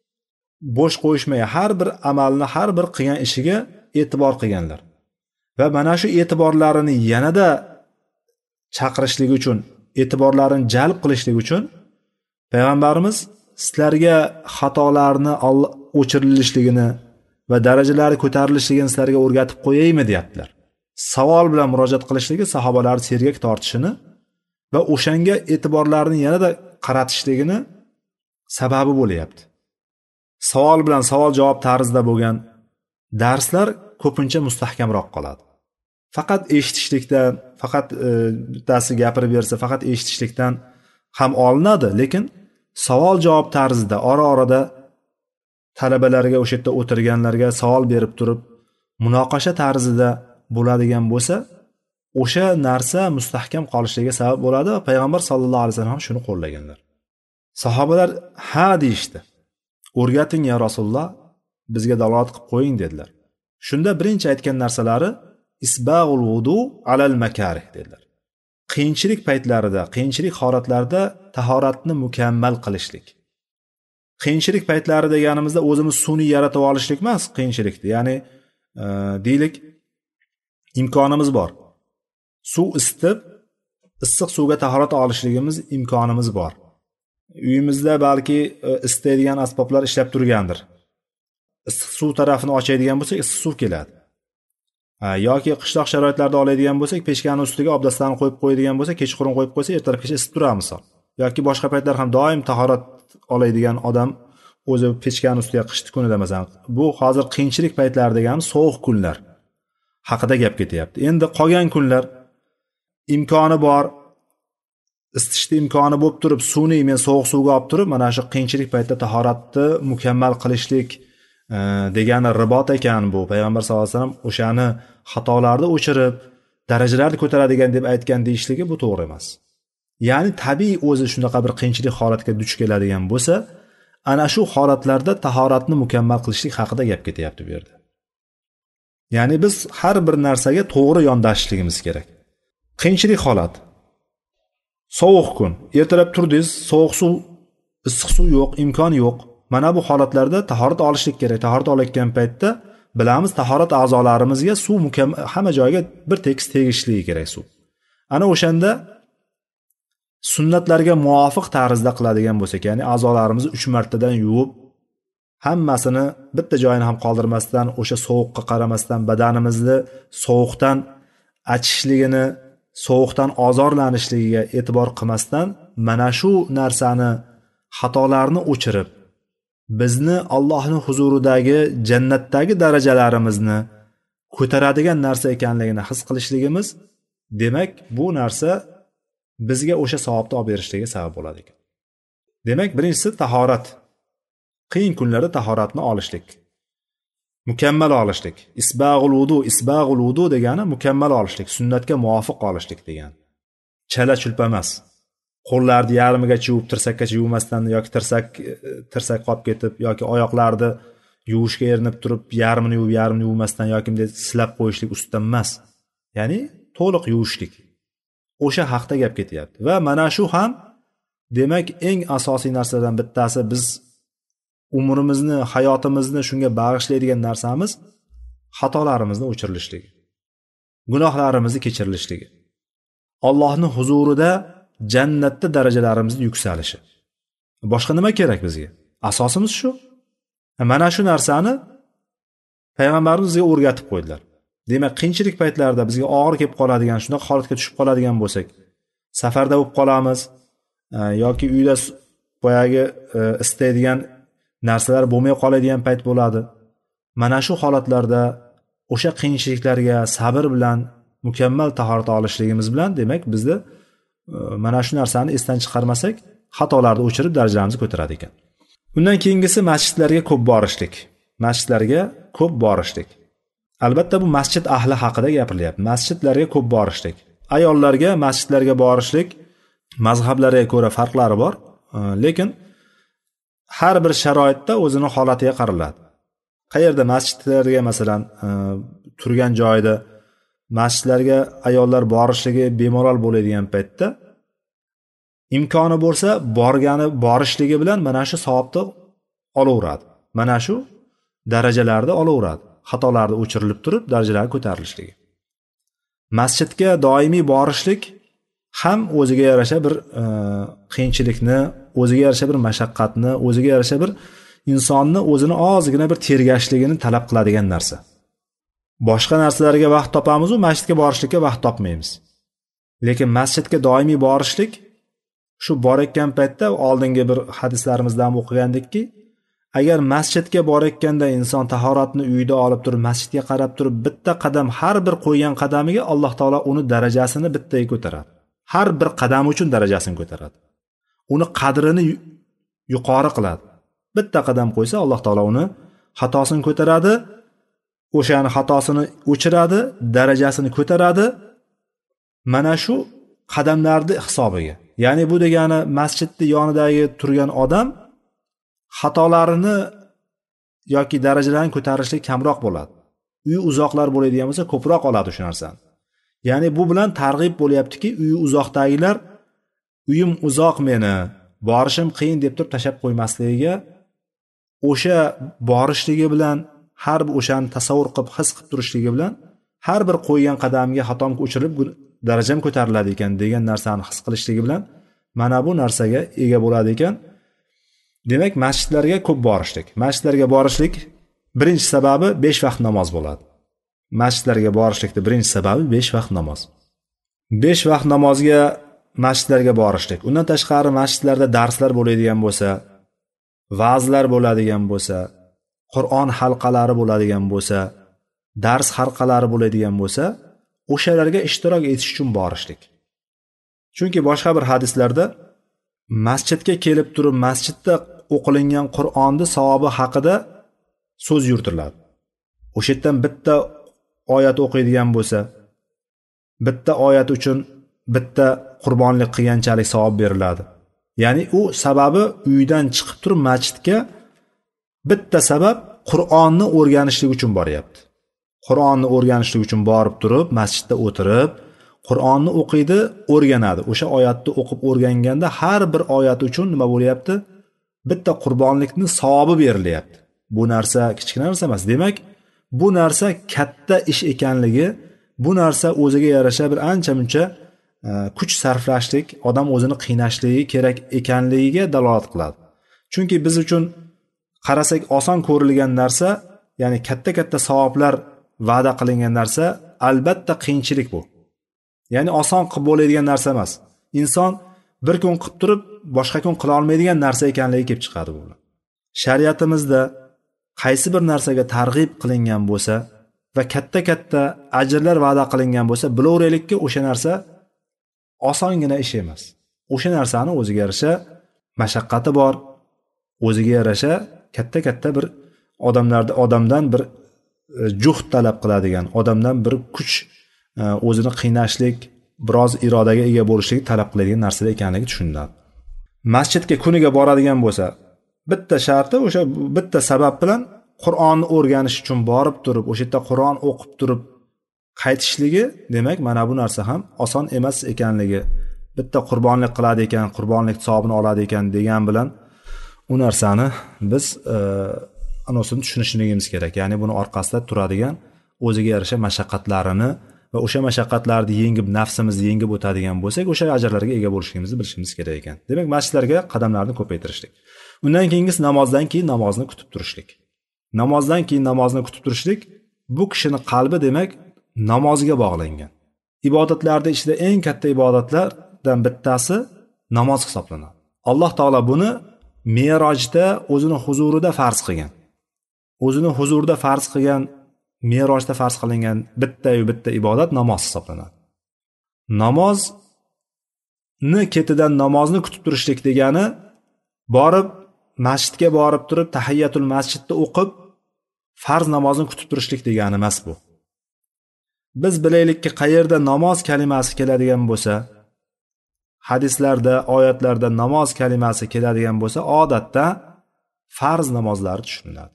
bo'sh qo'yishmay, har bir amalni, har bir qilgan ishiga e'tibor qilganlar. Va mana shu e'tiborlarini yanada chaqirishlik uchun, e'tiborlarini jalb qilishlik uchun payg'ambarimiz sizlarga xatolarni o'chirilishligini va darajalari ko'tarilishligini sizlarga o'rgatib qo'yaymi deyaptilar. Savol bilan murojaat qilishligi sahobalarni sergak tortishini va o'shanga e'tiborlarini yanada qaratishligini sababi bo'layapti. Savol bilan savol javob tarzida bo'lgan darslar ko'pincha mustahkamroq qoladi. Faqat eshitishlikdan, faqat bittasi gapirib bersa, faqat eshitishlikdan ham olinadi, lekin savol javob tarzida ora-orada talabalarga, o'sha yerda o'tirganlarga savol berib turib, munoqasha tarzida bo'ladigan bo'lsa, o'sha narsa mustahkam qolishligiga sabab bo'ladi va payg'ambar sollallohu alayhi vasallam ham shuni qo'llaganlar. Sahobalar ha deyishdi. O'rgating ya Rasululloh, bizga dalolat qilib qo'ying dedilar. Shunda birinchi aytgan narsalari isbag'ul vudu alal makarih dedilar. Qiyinchilik paytlarida, qiyinchilik holatlarida tahoratni mukammal qilishlik. Qiyinchilik paytlari deganimizda o'zimiz sun'iy yaratib olishlik emas, qiyinchilikni. Ya'ni deylik imkonimiz bor. Suv isitib, issiq suvga tahorat olishligimiz imkonimiz bor. Uyimizda balki isitadigan asboblar ishlab turgandir. Issiq suv tarafini ochadigan bo'lsak, issiq suv keladi. Yoki qishloq sharoitlarida oladigan bo'lsak, pechkani ustiga obdastlarni qo'yib qo'yadigan bo'lsa, kechqurun qo'yib qo'ysa, ertalabgacha isib turadi misol. yoki boshqa paytlar ham doim tahorat oladigan odam o'zi pechkani ustiga qishki kunida masalan, bu hozir qiyinchilik paytlari degani sovuq kunlar haqida gap ketyapti. Endi qolgan kunlar imkoni bor, isitishda imkoni bo'lib turib, suvni men sovuq suvga olib turib, mana shu qiyinchilik paytida tahoratni mukammal qilishlik degani ribot ekan bu. Payg'ambar sollallohu alayhi vasallam o'shani xatolarni o'chirib, darajalarni ko'taradigan deb aytgan deyishligi bu to'g'ri emas. Ya'ni tabiiy o'zi shunaqa bir qiyinchilik holatga duch keladigan bo'lsa, ana shu holatlarda tahoratni mukammal qilishlik haqida gap ketyapti bu yerda. Ya'ni biz har bir narsaga to'g'ri yondashishligimiz kerak. Qiyinchilik holat. Sovuq kun, ertalab turdingiz, sovuq suv, issiq suv yo'q, imkon yo'q. Mana bu holatlarda tahorat olishlik kerak. Tahorat olayotgan paytda bilamiz, tahorat a'zolarimizga suv hamma joyga bir tekis tegishligi kerak suv. Ana o'shanda sunnatlarga muvofiq tarzda qiladigan bo'lsak, ya'ni a'zolarimizni 3 martadan yuvib, hammasini bitta joyini ham qoldirmasdan, o'sha sovuqqa qaramasdan, badanimizni sovuqdan achishligini, sovuqdan ozorlanishligiga e'tibor qilmasdan, mana shu narsani, xatolarni o'chirib, bizni Allohning huzuridagi jannatdagi darajalarimizni ko'taradigan narsa ekanligini his qilishligimiz, demak, bu narsa bizga o'sha savobni olib berishligi sabab bo'ladi ekan. Demak, birinchisi tahorat. Qiyin kunlarda tahoratni olishlik. Mukammal olishlik. Isbag'ul vudu degani mukammal olishlik, sunnatga muvofiq olishlik degani. Chala chulpa emas. Qo'llarni yarmigacha yuvib, tirsakkacha yuvmasdan yoki tirsak qolib ketib yoki oyoqlarni yuvishga erinib turib, yarmini yuvmasdan yoki bunday silab qo'yishlik ustidan emas. Ya'ni to'liq yuvishlik. O'sha haqda gap ketyapti. Va mana shu ham demak eng asosiy narsalardan bittasi, biz umrimizni, hayotimizni shunga bag'ishlaydigan narsamiz xatolarimizni o'chirilishligi, gunohlarimizni kechirilishligi, Allohning huzurida jannatda darajalarimizni yuksalishi. Boshqa nima kerak bizga? Asosimiz shu. Mana shu narsani payg'ambarimiz bizga o'rgatib qo'ydilar. Demak, qiyinchilik paytlarida bizga og'ir kelib qoladigan, shunaqa holatga tushib qoladigan bo'lsak, safarda bo'lib qolamiz yoki uyda boyagi istaydigan narsalar bo'lmay qoladigan payt bo'ladi. Mana shu holatlarda o'sha qiyinchiliklarga sabr bilan mukammal tahorat olishligimiz bilan, demak, bizda mana shu narsani esdan chiqarmasak, xatolarni o'chirib darajalarimizni ko'taradi ekan. Undan keyingisi masjidlarga ko'p borishlik. Masjidlarga ko'p borishlik. Albatta bu masjid ahli haqida gapirilyapti. Masjidlarga ko'p borishlik. Ayollarga masjidlarga borishlik mazhablarga ko'ra farqlari bor, lekin har bir sharoitda o'zini holatiga qaraladi. Qayerda masjidlarga masalan turgan joyda masjidlarga ayollar borishligi bemalol bo'ladigan paytda imkoni bo'lsa borishligi bilan mana shu savobni olaveradi. Mana shu darajalarni olaveradi. Xatolarni o'chirilib turib, darajalar ko'tarilishligi. Masjidga doimiy borishlik ham o'ziga yarasha bir qiyinchilikni, o'ziga yarasha bir mashaqqatni, o'ziga yarasha bir insonni o'zini ozgina bir tergashligini talab qiladigan narsa. Boshqa narsalarga vaqt topamiz, masjidga borishlikka vaqt topmaymiz. Lekin masjidga doimiy borishlik, shu borayotgan paytda oldingi bir hadislarimizda ham o'qigandikki, agar masjidga borayotganda inson tahoratni uyida olib turib, masjidga qarab turib, bitta qadam, har bir qo'ygan qadamiga Alloh taolo uni darajasini bittaga ko'taradi. Har bir qadam uchun darajasini ko'taradi. Uni qadrini yuqori qiladi. Bitta qadam qo'ysa, Alloh taolo uni xatosini ko'taradi, o'shani xatosini o'chiradi, darajasini ko'taradi. Mana shu qadamlarni hisobiga. Ya'ni bu degani masjidning yonidagi turgan odam xatolarini yoki darajalarini ko'tarishlik kamroq bo'ladi. Uyi uzoqlar bo'ladigan bo'lsa, ko'proq oladi o'sha narsani. Ya'ni bu bilan targ'ib bo'lyaptiki, uyi uzoqdagilar uyim uzoq meni, borishim qiyin deb turib tashab qo'ymasligiga, o'sha borishligi bilan har bir o'shani tasavvur qilib, his qilib turishligi bilan har bir qo'ygan qadamiga xatom o'chirilib darajam ko'tariladi ekan degan narsani his qilishligi bilan mana bu narsaga ega bo'ladi ekan. Demak, masjidlarga ko'p borishlik. Masjidlarga borishlik birinchi sababi 5 vaqt namoz bo'ladi. Masjidlarga borishlikning birinchi sababi 5 vaqt namoz. 5 vaqt namozga masjidlarga borishlik. Undan tashqari masjidlarda darslar bo'ladigan bo'lsa, va'zlar bo'ladigan bo'lsa, Qur'on halqalari bo'ladigan bo'lsa, dars halqalari bo'ladigan bo'lsa, o'shalarga ishtirok etish uchun borishlik. Chunki boshqa bir hadislarda masjidga kelib turib masjidda o'qilingan Qur'onni savobi haqida so'z yuritiladi. O'sha yerdan bitta oyat o'qiydigan bo'lsa, bitta oyat uchun bitta qurbonlik qilganchalik savob beriladi. Ya'ni u sababi uydan chiqib turib masjidga bitta sabab Qur'onni o'rganishlik uchun boryapti. Qur'onni o'rganishlik uchun borib turib masjidda o'tirib Qur'onni o'qiydi, o'rganadi. O'sha oyatni o'qib o'rganganda har bir oyat uchun nima bo'lyapti? Bitta qurbonlikni savobi berilyapti. Bu narsa kichkina narsa emas. Demak, bu narsa katta ish ekanligi, bu narsa o'ziga yarasha bir ancha-muncha kuch sarflashlik, odam o'zini qiynashligi kerak ekanligiga dalolat qiladi. Chunki biz uchun qarasak oson ko'rilgan narsa, ya'ni katta-katta savoblar va'da qilingan narsa, albatta qiyinchilik bu. Ya'ni oson qilib bo'ladigan narsa emas. Inson bir kun qilib turib, boshqa kun qila olmaydigan narsa ekanligi kelib chiqadi bu. Shariatimizda qaysi bir narsaga targ'ib qilingan bo'lsa va katta-katta ajrlar va'da qilingan bo'lsa, bilaveraylikki, o'sha narsa osongina ish emas. O'sha narsani o'ziga yarasha mashaqqati bor, o'ziga yarasha katta-katta bir odamdan bir juhd talab qiladigan, odamdan bir kuch, o'zini qiynashlik, biroz irodaga ega bo'lishlik talab qiladigan narsalar ekanligi tushuniladi. Masjidga kuniga boradigan bo'lsa, bitta sharti o'sha bitta sabab bilan Qur'onni o'rganish uchun borib turib, o'sha yerda Qur'on o'qib turib qaytishligi, demak, mana bu narsa ham oson emas ekanligi, bitta qurbonlik qiladi ekan, qurbonlik savobini oladi ekan degan bilan u narsani biz anosini tushunishligimiz kerak. Ya'ni buni orqasida turadigan o'ziga yarasha mashaqqatlarini va o'sha mashaqqatlarni yengib, nafsimizni yengib o'tadigan bo'lsak, o'sha ajrlarga ega bo'lishimizni bilishimiz kerak ekan. Demak, masjidlarga qadamlarni ko'paytirishlik. Undan keyingisi namozdan keyin namozni kutib turishlik. Namozdan keyin namozni kutib turishlik bu kishining qalbi, demak, namozga bog'langan. Ibodatlarda ichida eng katta ibodatlardan bittasi namoz hisoblanadi. Alloh taolo buni Me'rojda o'zini huzurida farz qilgan. O'zini huzurida farz qilgan, Me'rojda farz qilingan bitta ibodat namoz hisoblanadi. Namozni ketidan namozni kutib turishlik degani borib masjidga borib turib tahiyyatul masjidda o'qib farz namozni kutib turishlik degani emas bu. Biz bilaylikki, qayerda namoz kalimasi keladigan bo'lsa, hadislarda, oyatlarda namoz kalimasi keladigan bo'lsa, odatda farz namozlari tushuniladi.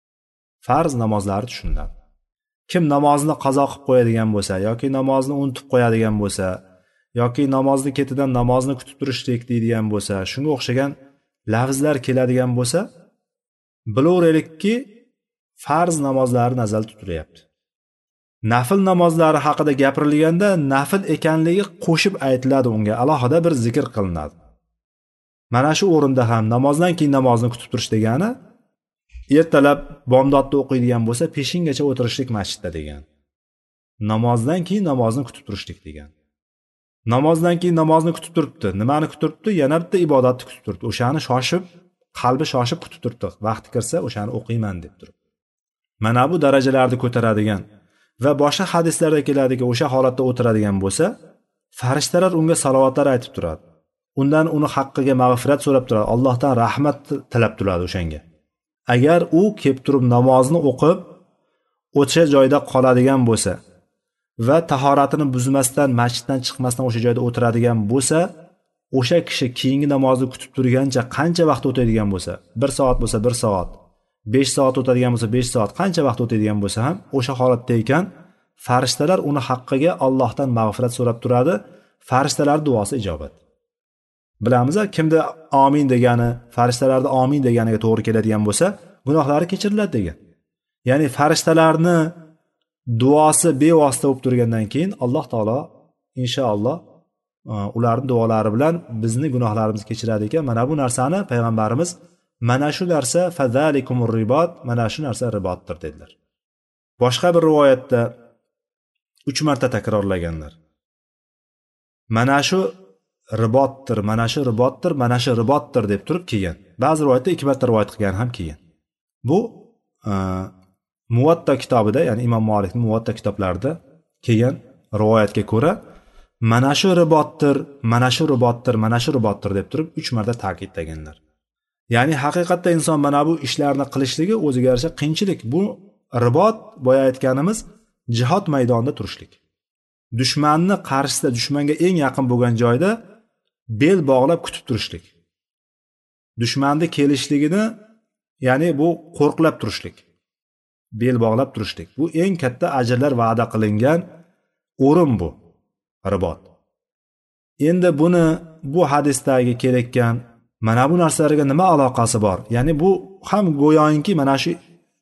Farz namozlari tushuniladi. Kim namozni qazo qilib qo'yadigan bo'lsa yoki namozni unutib qo'yadigan bo'lsa yoki namozni ketidan namozni kutib turishlik deydigan bo'lsa, shunga o'xshagan lafzlar keladigan bo'lsa, bilaveraylikki, farz namozlari nazarda tutilyapti. Nafil namozlari haqida gapirilganda nafil ekanligi qo'shib aytiladi, unga alohida bir zikr qilinadi. Mana shu o'rinda ham namozdan keyin namozni kutib turish degani ertalab bomdodda o'qiydigan bo'lsa peshingacha o'tirishlik masjidda degan. Namozdan keyin namozni kutib turishlik degan. Namozdan keyin namozni kutib turibdi. Nimani kutib turibdi? Yana bitta ibodatni kutib turibdi. O'shani qalbi shoshib kutib turibdi. Vaqti kirsa o'shani o'qiyman deb turib. Mana bu darajalarni ko'taradigan va boshqa hadislarda keladiki, o'sha holatda o'tiradigan bo'lsa, farishtalar unga salovatlar aytib turadi. Undan uni haqqiga mag'firat so'rab turadi. Allohdan rahmat tilab turadi o'shanga. Agar u kelib turib namozni o'qib o'sha joyda qoladigan bo'lsa va tahoratini buzmasdan, masjiddan chiqmasdan o'sha joyda o'tiradigan bo'lsa, o'sha kishi keyingi namozni kutib turgancha qancha vaqt o'tadigan bo'lsa, 1 soat bo'lsa 1 soat, 5 soat o'tadigan bo'lsa 5 soat, qancha vaqt o'tadigan bo'lsa ham o'sha holatda ekan, farishtalar uni haqqiga Allohdan mag'firat so'rab turadi. Farishtalar duosi ijobat. Bilamiz, kimda amin degani, farishtalarda amin deganiga to'g'ri keladigan bo'lsa, gunohlari kechiriladi degan. Ya'ni farishtalarni duosi bevosita bo'lib turgandan keyin Alloh taolo inshaalloh ularning duolari bilan bizni gunohlarimizni kechiradi ekan. Mana bu narsani payg'ambarimiz mana shu narsa fazalikumur ribot, mana shu narsa ribotdir dedilar. Boshqa bir rivoyatda 3 marta takrorlaganlar. Mana shu ribotdir, mana shu ribotdir, mana shu ribotdir deb turib kelgan. Ba'zi rivoyatda ikki marta rivoyat qilgan ham kelgan. Bu Muvatta kitobida, ya'ni Imom Malikning Muvatta kitoblarida kelgan rivoyatga ko'ra mana shu ribotdir, mana shu ribotdir, mana shu ribotdir deb turib 3 marta ta'kidlaganlar. Ya'ni haqiqatda inson mana bu ishlarni qilishligi o'ziga yarasha qiyinchilik. Bu ribot boya aytganimiz jihod maydonida turishlik. Dushmanni qarshisida, dushmanga eng yaqin bo'lgan joyda bel bog'lab kutib turishlik. Dushmanning kelishligini, ya'ni bu qo'rqlab turishlik. Bel bog'lab turishlik. Bu eng katta ajrlar va'da qilingan o'rin bu ribot. Endi buni bu hadisdagi kelayotgan mana bu narsalarga nima aloqasi bor? Ya'ni bu ham go'yoki mana shu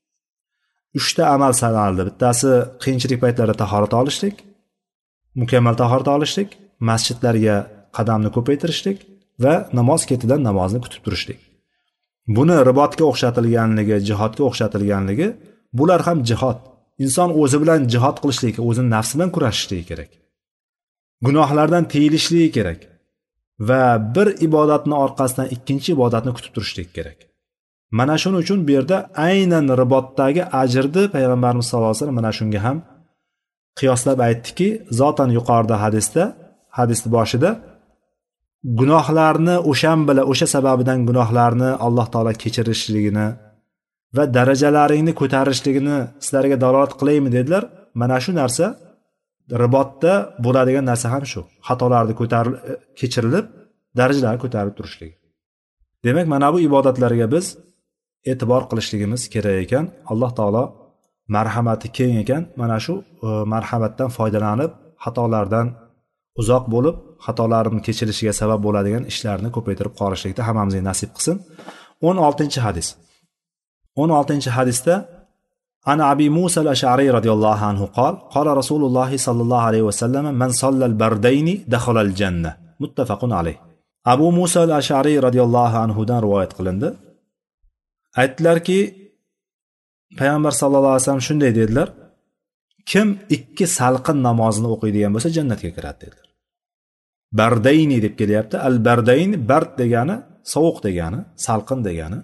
3 ta amal sanaldi. Bittasi qiyinchilik paytlarida tahorat olishlik, mukammal tahorat olishlik, masjidlarga qadamni ko'paytirishlik va namoz ketidan namozni kutib turishlik. Buni ribotga o'xshatilganligi, jihodga o'xshatilganligi, bular ham jihod. Inson o'zi bilan jihod qilishligi, o'zini nafsi bilan kurashishligi kerak. Gunohlardan tiyilishligi kerak va bir ibodatni orqasidan ikkinchi ibodatni kutib turishlik kerak. Mana shuning uchun bu yerda aynan ribotdagi ajrni payg'ambarimiz sollallohu alayhi vasallam mana shunga ham qiyoslab aytdiki, zotan yuqorida hadisni boshida gunohlarni o'sha sababidan gunohlarni Alloh taolo kechirishligini va darajalaringni ko'tarishligini sizlarga dalolat qilaymi dedilar. Mana shu narsa ribotda bo'ladigan narsa ham shu. Xatolarni kechirilib, darajalar ko'tarilib turishligi. Demak, mana bu ibodatlarga biz e'tibor qilishligimiz kerak ekan. Alloh taolo marhamati keng ekan. Mana shu marhamatdan foydalanib, xatolardan uzoq bo'lib, xatolarni kechirishiga sabab bo'ladigan ishlarni ko'paytirib qolishlikda hammamizga nasib qilsin. 16-hadis. 16-hadisda An Abi Musa al-Ash'ari radhiyallohu anhu qala Rasululloh sallallohu alayhi va sallam man salla al-bardayni dakhala al-janna. Muttafaqun alayh. Abu Musa al-Ash'ari radhiyallohu anhu dan rivoyat qilindi. Aytdilarki, payg'ambar sallallohu alayhi vasallam shunday dedilar: kim ikki salqin namozini o'qiydigan bo'lsa jannatga kiradi dedilar. Bardayni deb kelyapti. Al-bardayn bard degani sovuq degani, salqin degani.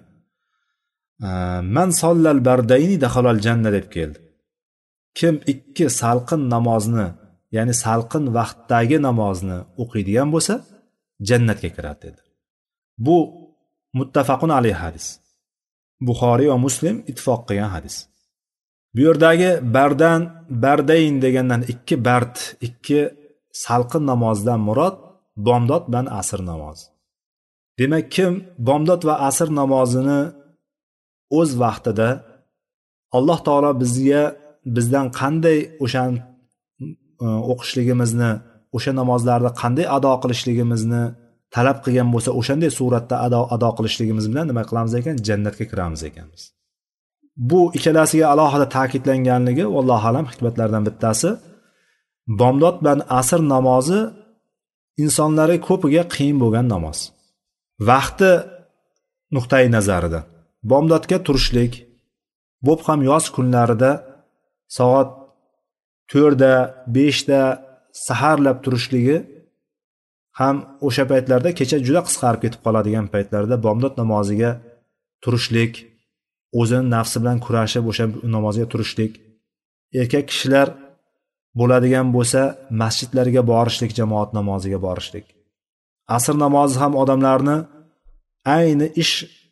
Man sollal bardayni dakhalal janna deb keldi. Kim ikki salqin namozni, ya'ni salqin vaqtdagi namozni o'qiydigan bo'lsa jannatga kiradi dedi. Bu muttafaqun alayh hadis. Buxoriy va Muslim ittifoq qilgan hadis. Bu yerdagi bardayn degandan ikki salqin namozdan murod bomdod bilan asr namozi. Demak, kim bomdod va asr namozini o'z vaqtida Alloh taolo bizdan qanday o'shani o'qishligimizni, o'sha namozlarni qanday ado qilishligimizni talab qilgan bo'lsa, o'shanday suratda ado qilishligimiz bilan nima qilamiz ekan? Jannatga kiramiz ekanmiz. Bu ikkalasiga alohida ta'kidlanganligi vallohu alam hikmatlardan bittasi. Bomdod bilan asr namozi insonlarga ko'piga qiyin bo'lgan namoz. Vaqti nuqtai nazaridan bomdodga turishlik, bo'p ham yoz kunlarida soat 4 da 5 da saharlab turishligi ham o'sha paytlarda kecha juda qisqarib ketib qoladigan paytlarda bomdod namoziga turishlik, o'zini nafsi bilan kurashib o'sha namozga turishlik, erkak kishilar bo'ladigan bo'lsa masjidlarga borishlik, jamoat namoziga borishlik. Asr namozi ham odamlarni ayni ish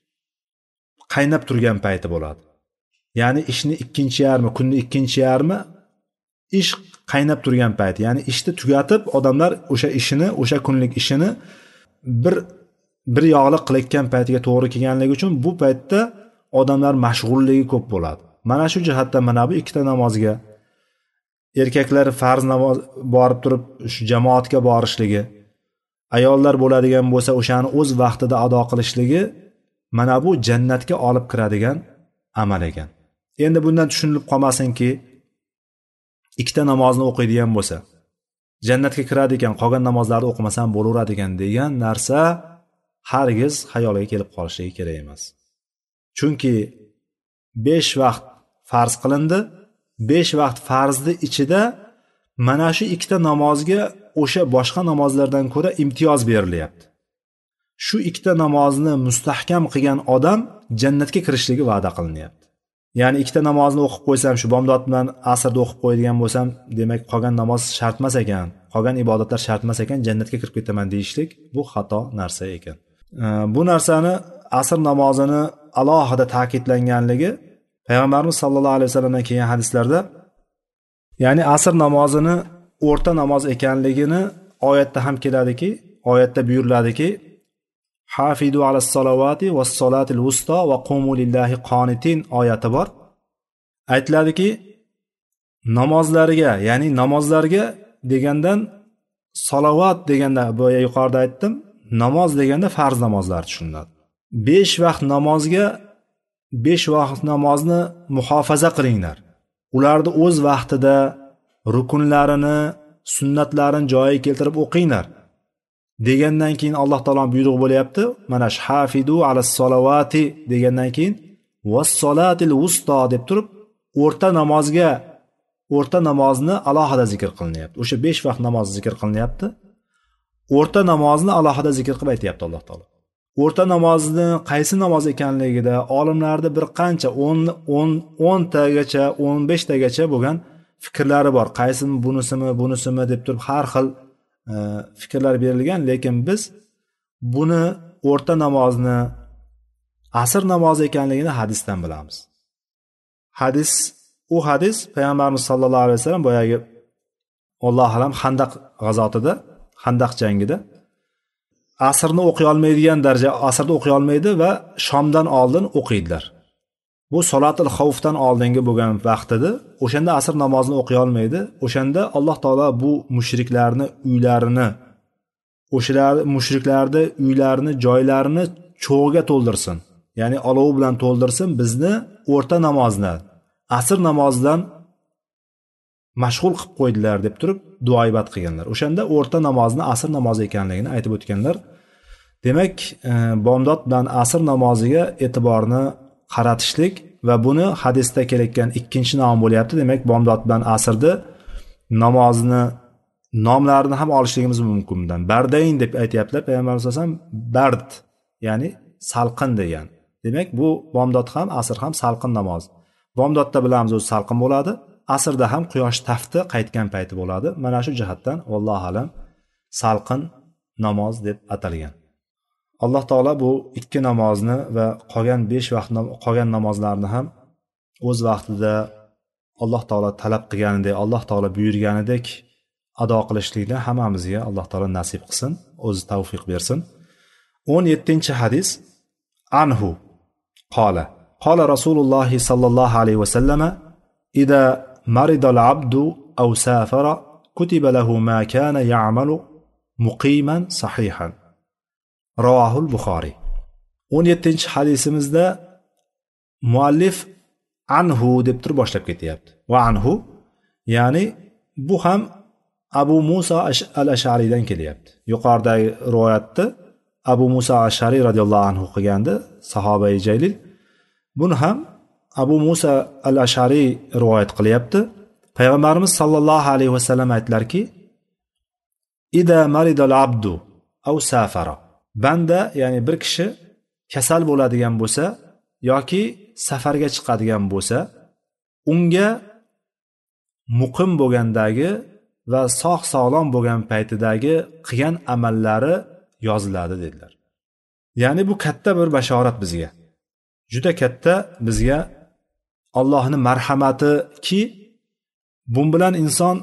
qaynab turgan payti bo'ladi. Ya'ni ishni ikkinchi yarmi, kunni ikkinchi yarmi ish qaynab turgan payti. Ya'ni ishni tugatib odamlar o'sha ishini, o'sha kunlik ishini bir yoqliq qilayotgan paytiga to'g'ri kelganligi uchun bu paytda odamlar mashg'ulligi ko'p bo'ladi. Mana shu jihatdan mana bu ikkita namozga erkaklar farz namoz borib turib shu jamoatga borishligi, ayollar bo'ladigan bo'lsa o'shani o'z vaqtida ado qilishligi mana bu jannatga olib kiradigan amal ekan. Endi bundan tushunilib qolmasinki, ikkita namozni o'qiydigan bo'lsa jannatga kiradi ekan, qolgan namozlarni o'qimasam bo'laveradi ekan degan narsa hargiz xayoliga kelib qolishligi kerak emas. Chunki 5 vaqt farz qilindi. 5 vaqt farzni ichida mana shu ikkita namozga o'sha boshqa namozlardan ko'ra imtiyoz berilyapti. Shu ikkita namozni mustahkam qilgan odam jannatga kirishligi va'da qilinyapti. Ya'ni ikkita namozni o'qib qo'ysam, shu bomdod bilan asrda o'qib qo'yadigan bo'lsam, demak qolgan namoz shart emas ekan, qolgan ibodatlar shart emas ekan, jannatga kirib ketaman deyishlik bu xato narsa ekan. Bu narsani asr namozini alohida ta'kidlanganligi Payg'ambarimiz sollallohu alayhi vasallamdan kelgan hadislarda, ya'ni asr namozini o'rta namoz ekanligini oyatda ham keladiki, oyatda buyuriladiki, Hafidu alas salavati was salatil wusta va qumu lillahi qonitin oyati bor. Aytiladiki, namozlarga, ya'ni namozlarga degandan salovat deganda, bu yuqorida aytdim, namoz deganda farz namozlar tushuniladi. 5 vaqt namozga 5 vaqt namozni muhofaza qilinglar. Ularni o'z vaqtida rukunlarini, sunnatlarini joyiga keltirib o'qinglar. Degandan keyin Alloh taoloning buyrug'i bo'lyapti. Mana hafidu alas salavati degandan keyin was salatil wusta deb turib o'rta namozni alohida zikr qilinyapti. O'sha 5 vaqt namoz zikr qilinyapti. O'rta namozni alohida zikr qilib aytayapti Alloh taolo. O'rta namozni qaysi namoz ekanligida olimlarda bir qancha 10 tagacha, 15 tagacha bo'lgan fikrlari bor. Qaysi bunisimi deb turib har xil fikrlar berilgan, lekin biz buni o'rta namozni asr namozi ekanligini hadisdan bilamiz. Hadis Payg'ambarimiz sollallohu alayhi vasallam boyagi Alloh alam Xandaq g'azotida, Xandaq jangida asrni o'qiy olmaydigan darajada asrda o'qiy olmaydi va shomdan oldin o'qiydilar. Bu solatul xavfdan oldingi bo'lgan vaqt edi. O'shanda asr namozini o'qiy olmaydi. O'shanda Alloh taolo bu mushriklarni uylarini, mushriklarni uylarini, joylarini cho'g'iga to'ldirsin. Ya'ni olov bilan to'ldirsin, bizni o'rta namozni, asr namozidan mashg'ul qilib qo'ydilar deb turib duoibat qilganlar. O'shanda o'rta namozni asr namozi ekanligini aytib o'tganlar. Demak, bomdod bilan asr namoziga e'tiborni qaratishlik va buni hadisda kelayotgan ikkinchi nom bo'lyapti. Demak, bomdod bilan asrni namozni nomlarini ham olishligimiz mumkin bundan. Bardayn deb aytayaptilar. Payg'ambarimiz sollallohu alayhi vasallam bard, ya'ni salqin degan. Demak, bu bomdod ham asr ham salqin namoz. Bomdodda bilamiz o'zi salqin bo'ladi, asrda ham quyosh tafti qaytgan payti bo'ladi. Mana shu jihatdan vallohu alam salqin namoz deb atalgan. Alloh taolo bu ikki namozni va qolgan 5 vaqt qolgan namozlarni ham o'z vaqtida Alloh taolo talab qilganidek, Alloh taolo buyurganidek ado qilishlikni hammamizga Alloh taolo nasib qilsin, o'zi tavfiq bersin. 17-hadis anhu qala qala Rasululloh sallallohu alayhi va sallama idza marida al-abdu aw safara kutiba lahu ma kana ya'malu muqiman sahihan. Ravahul Buxoriy. 17-hadisimizda muallif anhu deb turib boshlab ketyapti. Va anhu, ya'ni bu ham Abu Musa al-Ash'aridan kelyapti. Yuqoridagi rivoyatda Abu Musa al-Ash'ari radhiyallohu anhu qilgandi, sahobai jalil. Buni ham Abu Musa al-Ash'ari rivoyat qilyapti. Payg'ambarimiz sollallohu alayhi vasallam aytlarki: "Ida maridal abdu aw safara." Banda, ya'ni bir kishi kasal bo'ladigan bo'lsa yoki safarga chiqadigan bo'lsa, unga muqim bo'lgandagi va sog'-sog'lom bo'lgan paytidagi qilgan amallari yoziladi dedilar. Ya'ni bu katta bir bashorat bizga. Juda katta bizga Allohning marhamatiki, bu bilan inson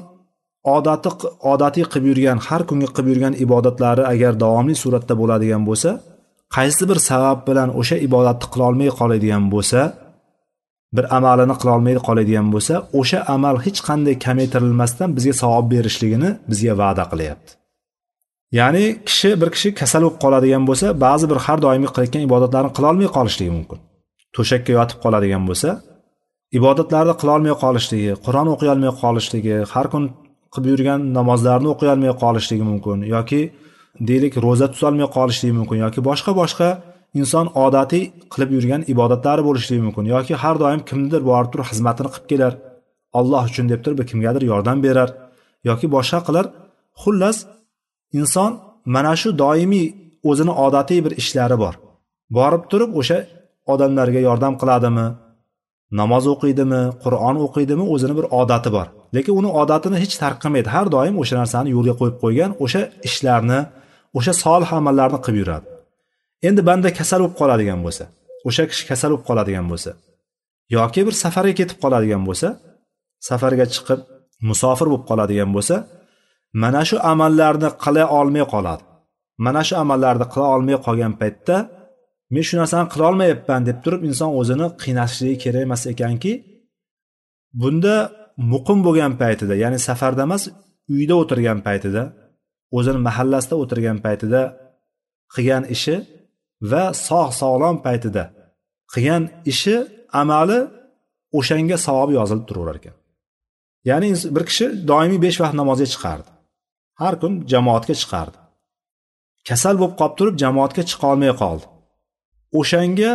odatiy qilib yurgan, har kungi qilib yurgan ibodatlari agar davomli suratda bo'ladigan bo'lsa, qaysi bir sabab bilan o'sha ibodatni qila olmay qoladigan bo'lsa, bir amalini qila olmay qoladigan bo'lsa, o'sha amal hech qanday kamaytirilmasdan bizga savob berishligini bizga va'da qilyapti. Ya'ni bir kishi kasal bo'lib qoladigan bo'lsa, ba'zi bir har doimiy qilayotgan ibodatlarni qila olmay qolishligi mumkin. To'shakka yotib qoladigan bo'lsa, ibodatlarni qila olmay qolishligi, Qur'on o'qiy olmay qolishligi, har kun qilib yurgan namozlarni o'qiy olmay qolishligi mumkin yoki deylik roza tuta olmay qolishligi mumkin yoki boshqa inson odatiy qilib yurgan ibodatlari bo'lishligi mumkin yoki har doim kimdir borib turib xizmatini qilib kelar, Alloh uchun deb turib kimgadir yordam berar yoki boshqa qilar, Xullas, inson mana shu doimiy o'zini odatiy bir ishlari bor. Borib turib o'sha odamlarga yordam qiladimi, namoz o'qiydimi, Qur'on o'qiydimi, o'zini bir odati bor. Lekin uni odatini hech tark qilmaydi. Har doim o'sha narsani yo'lga qo'yib qo'ygan, o'sha ishlarni, o'sha solih amallarni qilib yuradi. Endi banda kasal bo'lib qoladigan bo'lsa, o'sha kishi kasal bo'lib qoladigan bo'lsa yoki bir safarga ketib qoladigan bo'lsa, safarga chiqib musofir bo'lib qoladigan bo'lsa, mana shu amallarni qila olmay qoladi. Mana shu amallarni qila olmay qolgan paytda men shu narsani qila olmayapman deb turib inson o'zini qiynashligi kerak emas ekanki, bunda muqim bo'lgan paytida, ya'ni safarda emas, uyda o'tirgan paytida, o'zini mahallasida o'tirgan paytida qilgan ishi va sog'-sog'lom paytida qilgan ishi, amali o'shanga savob yozilib turaverar ekan. Ya'ni bir kishi doimiy 5 vaqt namozga chiqardi. Har kun jamoatga chiqardi. Kasal bo'lib qolib turib jamoatga chiqa olmay qoldi. O'shanga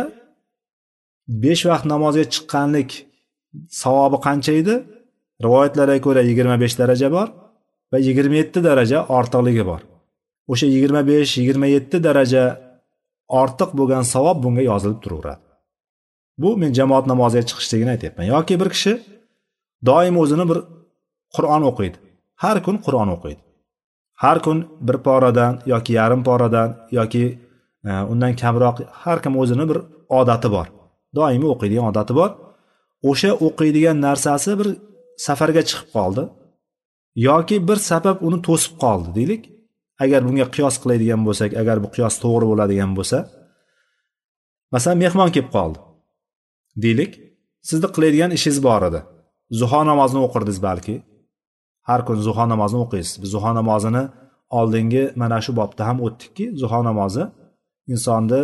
5 vaqt namozga chiqqanlik savobi qancha edi? Rivoyatlarga ko'ra 25 daraja bor va 27 daraja ortiqligi bor. O'sha 25-27 daraja ortiq bo'lgan savob bunga yozilib turaveradi. Bu men jamoat namoziga chiqishligini aytyapman. Yoki bir kishi doim o'zini bir Qur'on o'qiydi. Har kun Qur'on o'qiydi. Har kun bir poradan yoki yarim poradan yoki undan kamroq, har kim o'zini bir odati bor. Doimiy o'qiydigan odati bor. O'sha o'qiydigan narsasi bir safarga chiqib qoldi yoki bir sabab uni to'sib qoldi deylik. Agar bunga qiyos qiladigan bo'lsak, agar bu qiyos to'g'ri bo'ladigan bo'lsa, masalan mehmon kelib qoldi deylik. Sizni qiladigan ishingiz bor edi. Zuho namozini o'qirdingiz balki. Har kun zuho namozini o'qiysiz. Biz zuho namozini oldingi mana shu bobda ham o'tdikki, zuho namozi insonni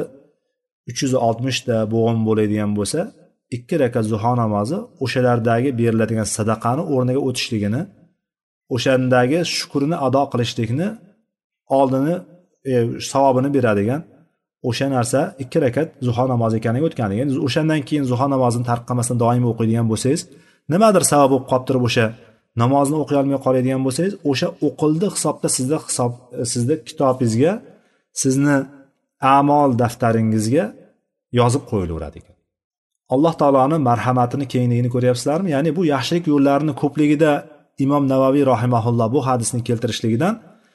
360 ta bo'g'im bo'ladigan bo'lsa, 2 rakat zuho namozi o'shalardagi beriladigan sadaqani o'rniga o'tishligini, o'shandagi shukrini ado qilishlikni oldini savobini beradigan o'sha narsa 2 rakat zuho namozi ekanligi o'tgan. Endi o'shandan keyin zuho namozini tark qilmasdan doim o'qiydigan bo'lsangiz, nimadir sabab bo'lib qolib turib o'sha namozni o'qiy olmay qoladigan bo'lsangiz, o'sha o'qildi hisobda sizni kitobingizga, sizni a'mol daftaringizga yozib qo'yilaveradi ekan. Alloh taoloning marhamatini, kengligini ko'ryapsizlarmi? Ya'ni bu yaxshilik yo'llarini ko'pligida Imom Navaviy rahimahulloh bu hadisni keltirishligidan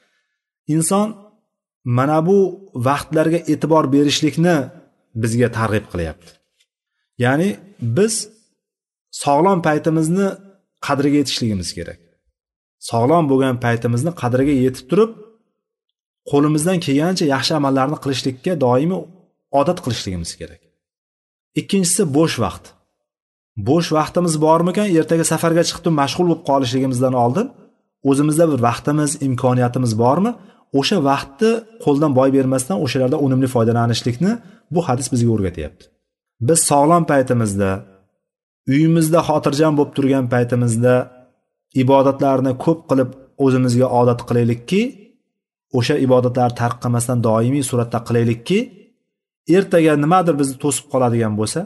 inson mana bu vaqtlarga e'tibor berishlikni bizga targ'ib qilyapti. Ya'ni biz sog'lom paytimizni qadriga yetishligimiz kerak. Sog'lom bo'lgan paytimizni qadriga yetib turib, qo'limizdan kelgancha yaxshi amallarni qilishlikka doimiy odat qilishligimiz kerak. Ikkinchisi bo'sh vaqt. Bo'sh vaqtimiz bormikan, ertaga safarga chiqib mashg'ul bo'lib qolishligimizdan oldin o'zimizda bir vaqtimiz, imkoniyatimiz bormi? O'sha vaqtni qo'ldan boy bermasdan o'shalarda unumli foydalanishlikni bu hadis bizga o'rgatyapti. Biz sog'lom paytimizda, uyimizda xotirjam bo'lib turgan paytimizda ibodatlarni ko'p qilib o'zimizga odat qilaylikki, o'sha ibodatlarni tark qilmasdan doimiy suratda qilaylikki, ertaga nimadir bizni to'sib qoladigan bo'lsa,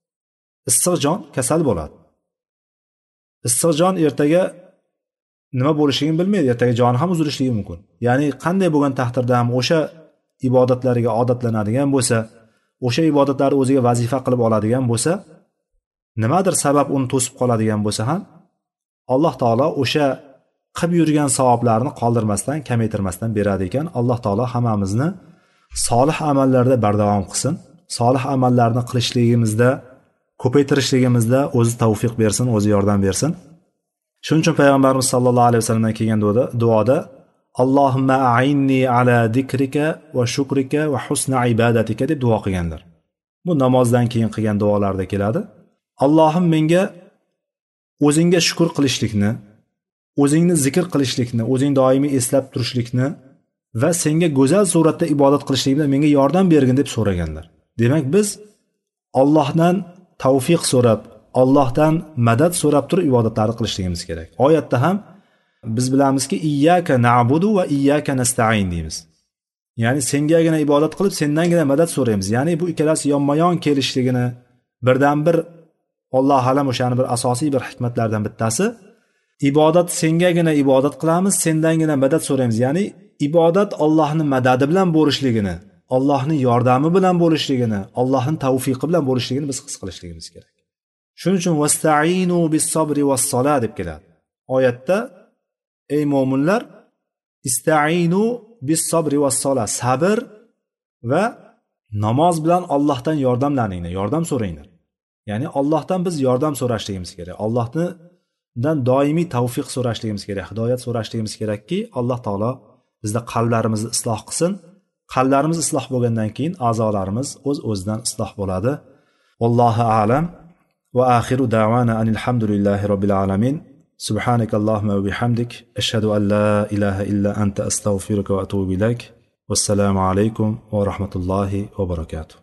issiq jon kasal bo'ladi. Issiq jon ertaga nima bo'lishligini bilmaydi, ertaga joni ham uzilishligi mumkin. Ya'ni qanday bo'lgan taqdirda ham o'sha ibodatlarga odatlanadigan bo'lsa, o'sha ibodatlarni o'ziga vazifa qilib oladigan bo'lsa, nimadir sabab uni to'sib qoladigan bo'lsa ham, Alloh taolo o'sha qilib yurgan savoblarni qoldirmasdan, kamaytirmasdan beradi ekan. Alloh taolo hammamizni solih amallarda bardavom qilsin. Solih amallarni qilishligimizda, ko'paytirishligimizda o'zi tavfiq bersin, o'zi yordam bersin. Shuning uchun payg'ambarimiz sollallohu alayhi vasallamdan kelgan duoda Allohumma a'inni ala zikrika va shukrika va husna ibadatika deb duo qilganlar. Bu namozdan keyin qilgan duolarda keladi. Allohim menga o'zingga shukr qilishlikni, o'zingni zikr qilishlikni, o'zing doimiy eslab turishlikni va senga go'zal suratda ibodat qilishlikda menga yordam bergin deb so'raganlar. Demak, biz Allohdan tavfiq so'rab, Allohdan madad so'rab turib ibodatlarni qilishligimiz kerak. Oyatda ham biz bilamizki, iyyaka na'budu va iyyaka nasta'in deymiz. Ya'ni sengagina ibodat qilib, sendangina madad so'raymiz. Ya'ni bu ikkalasi yonma-yon kelishligini birdan bir Alloh alam o'shani bir asosiy bir hikmatlardan bittasi ibodat sengagina ibodat qilamiz, sendangina madad so'raymiz. Ya'ni ibodat Allohning madadi bilan bo'lishligini, Allohning yordami bilan bo'lishligini, Allohning tavfiqi bilan bo'lishligini biz his qilishligimiz kerak. Shuning uchun vasta'inu bis-sabri was-solat deb keladi. Oyatda ey mu'minlar, ista'inu bis-sabri was-solat, sabr va namoz bilan Allohdan yordamlaninglar, yordam so'ranglar. Ya'ni Allohdan biz yordam so'rashligimiz kerak. Allohdan doimiy tavfiq so'rashligimiz kerak, hidoyat so'rashligimiz kerakki, Alloh taolo bizda qalblarimizni isloh qilsin. Qalblarimiz isloh bo'lgandan keyin a'zolarimiz o'z-o'zidan isloh bo'ladi. Vallohu a'lam. Va axiru da'wana anil hamdulillahi robbil alamin. Subhanakallahumma va bihamdik, ashhadu an la ilaha illa anta astaghfiruka va atubu ilayk. Wassalamu alaykum va rahmatullohi va barakatuh.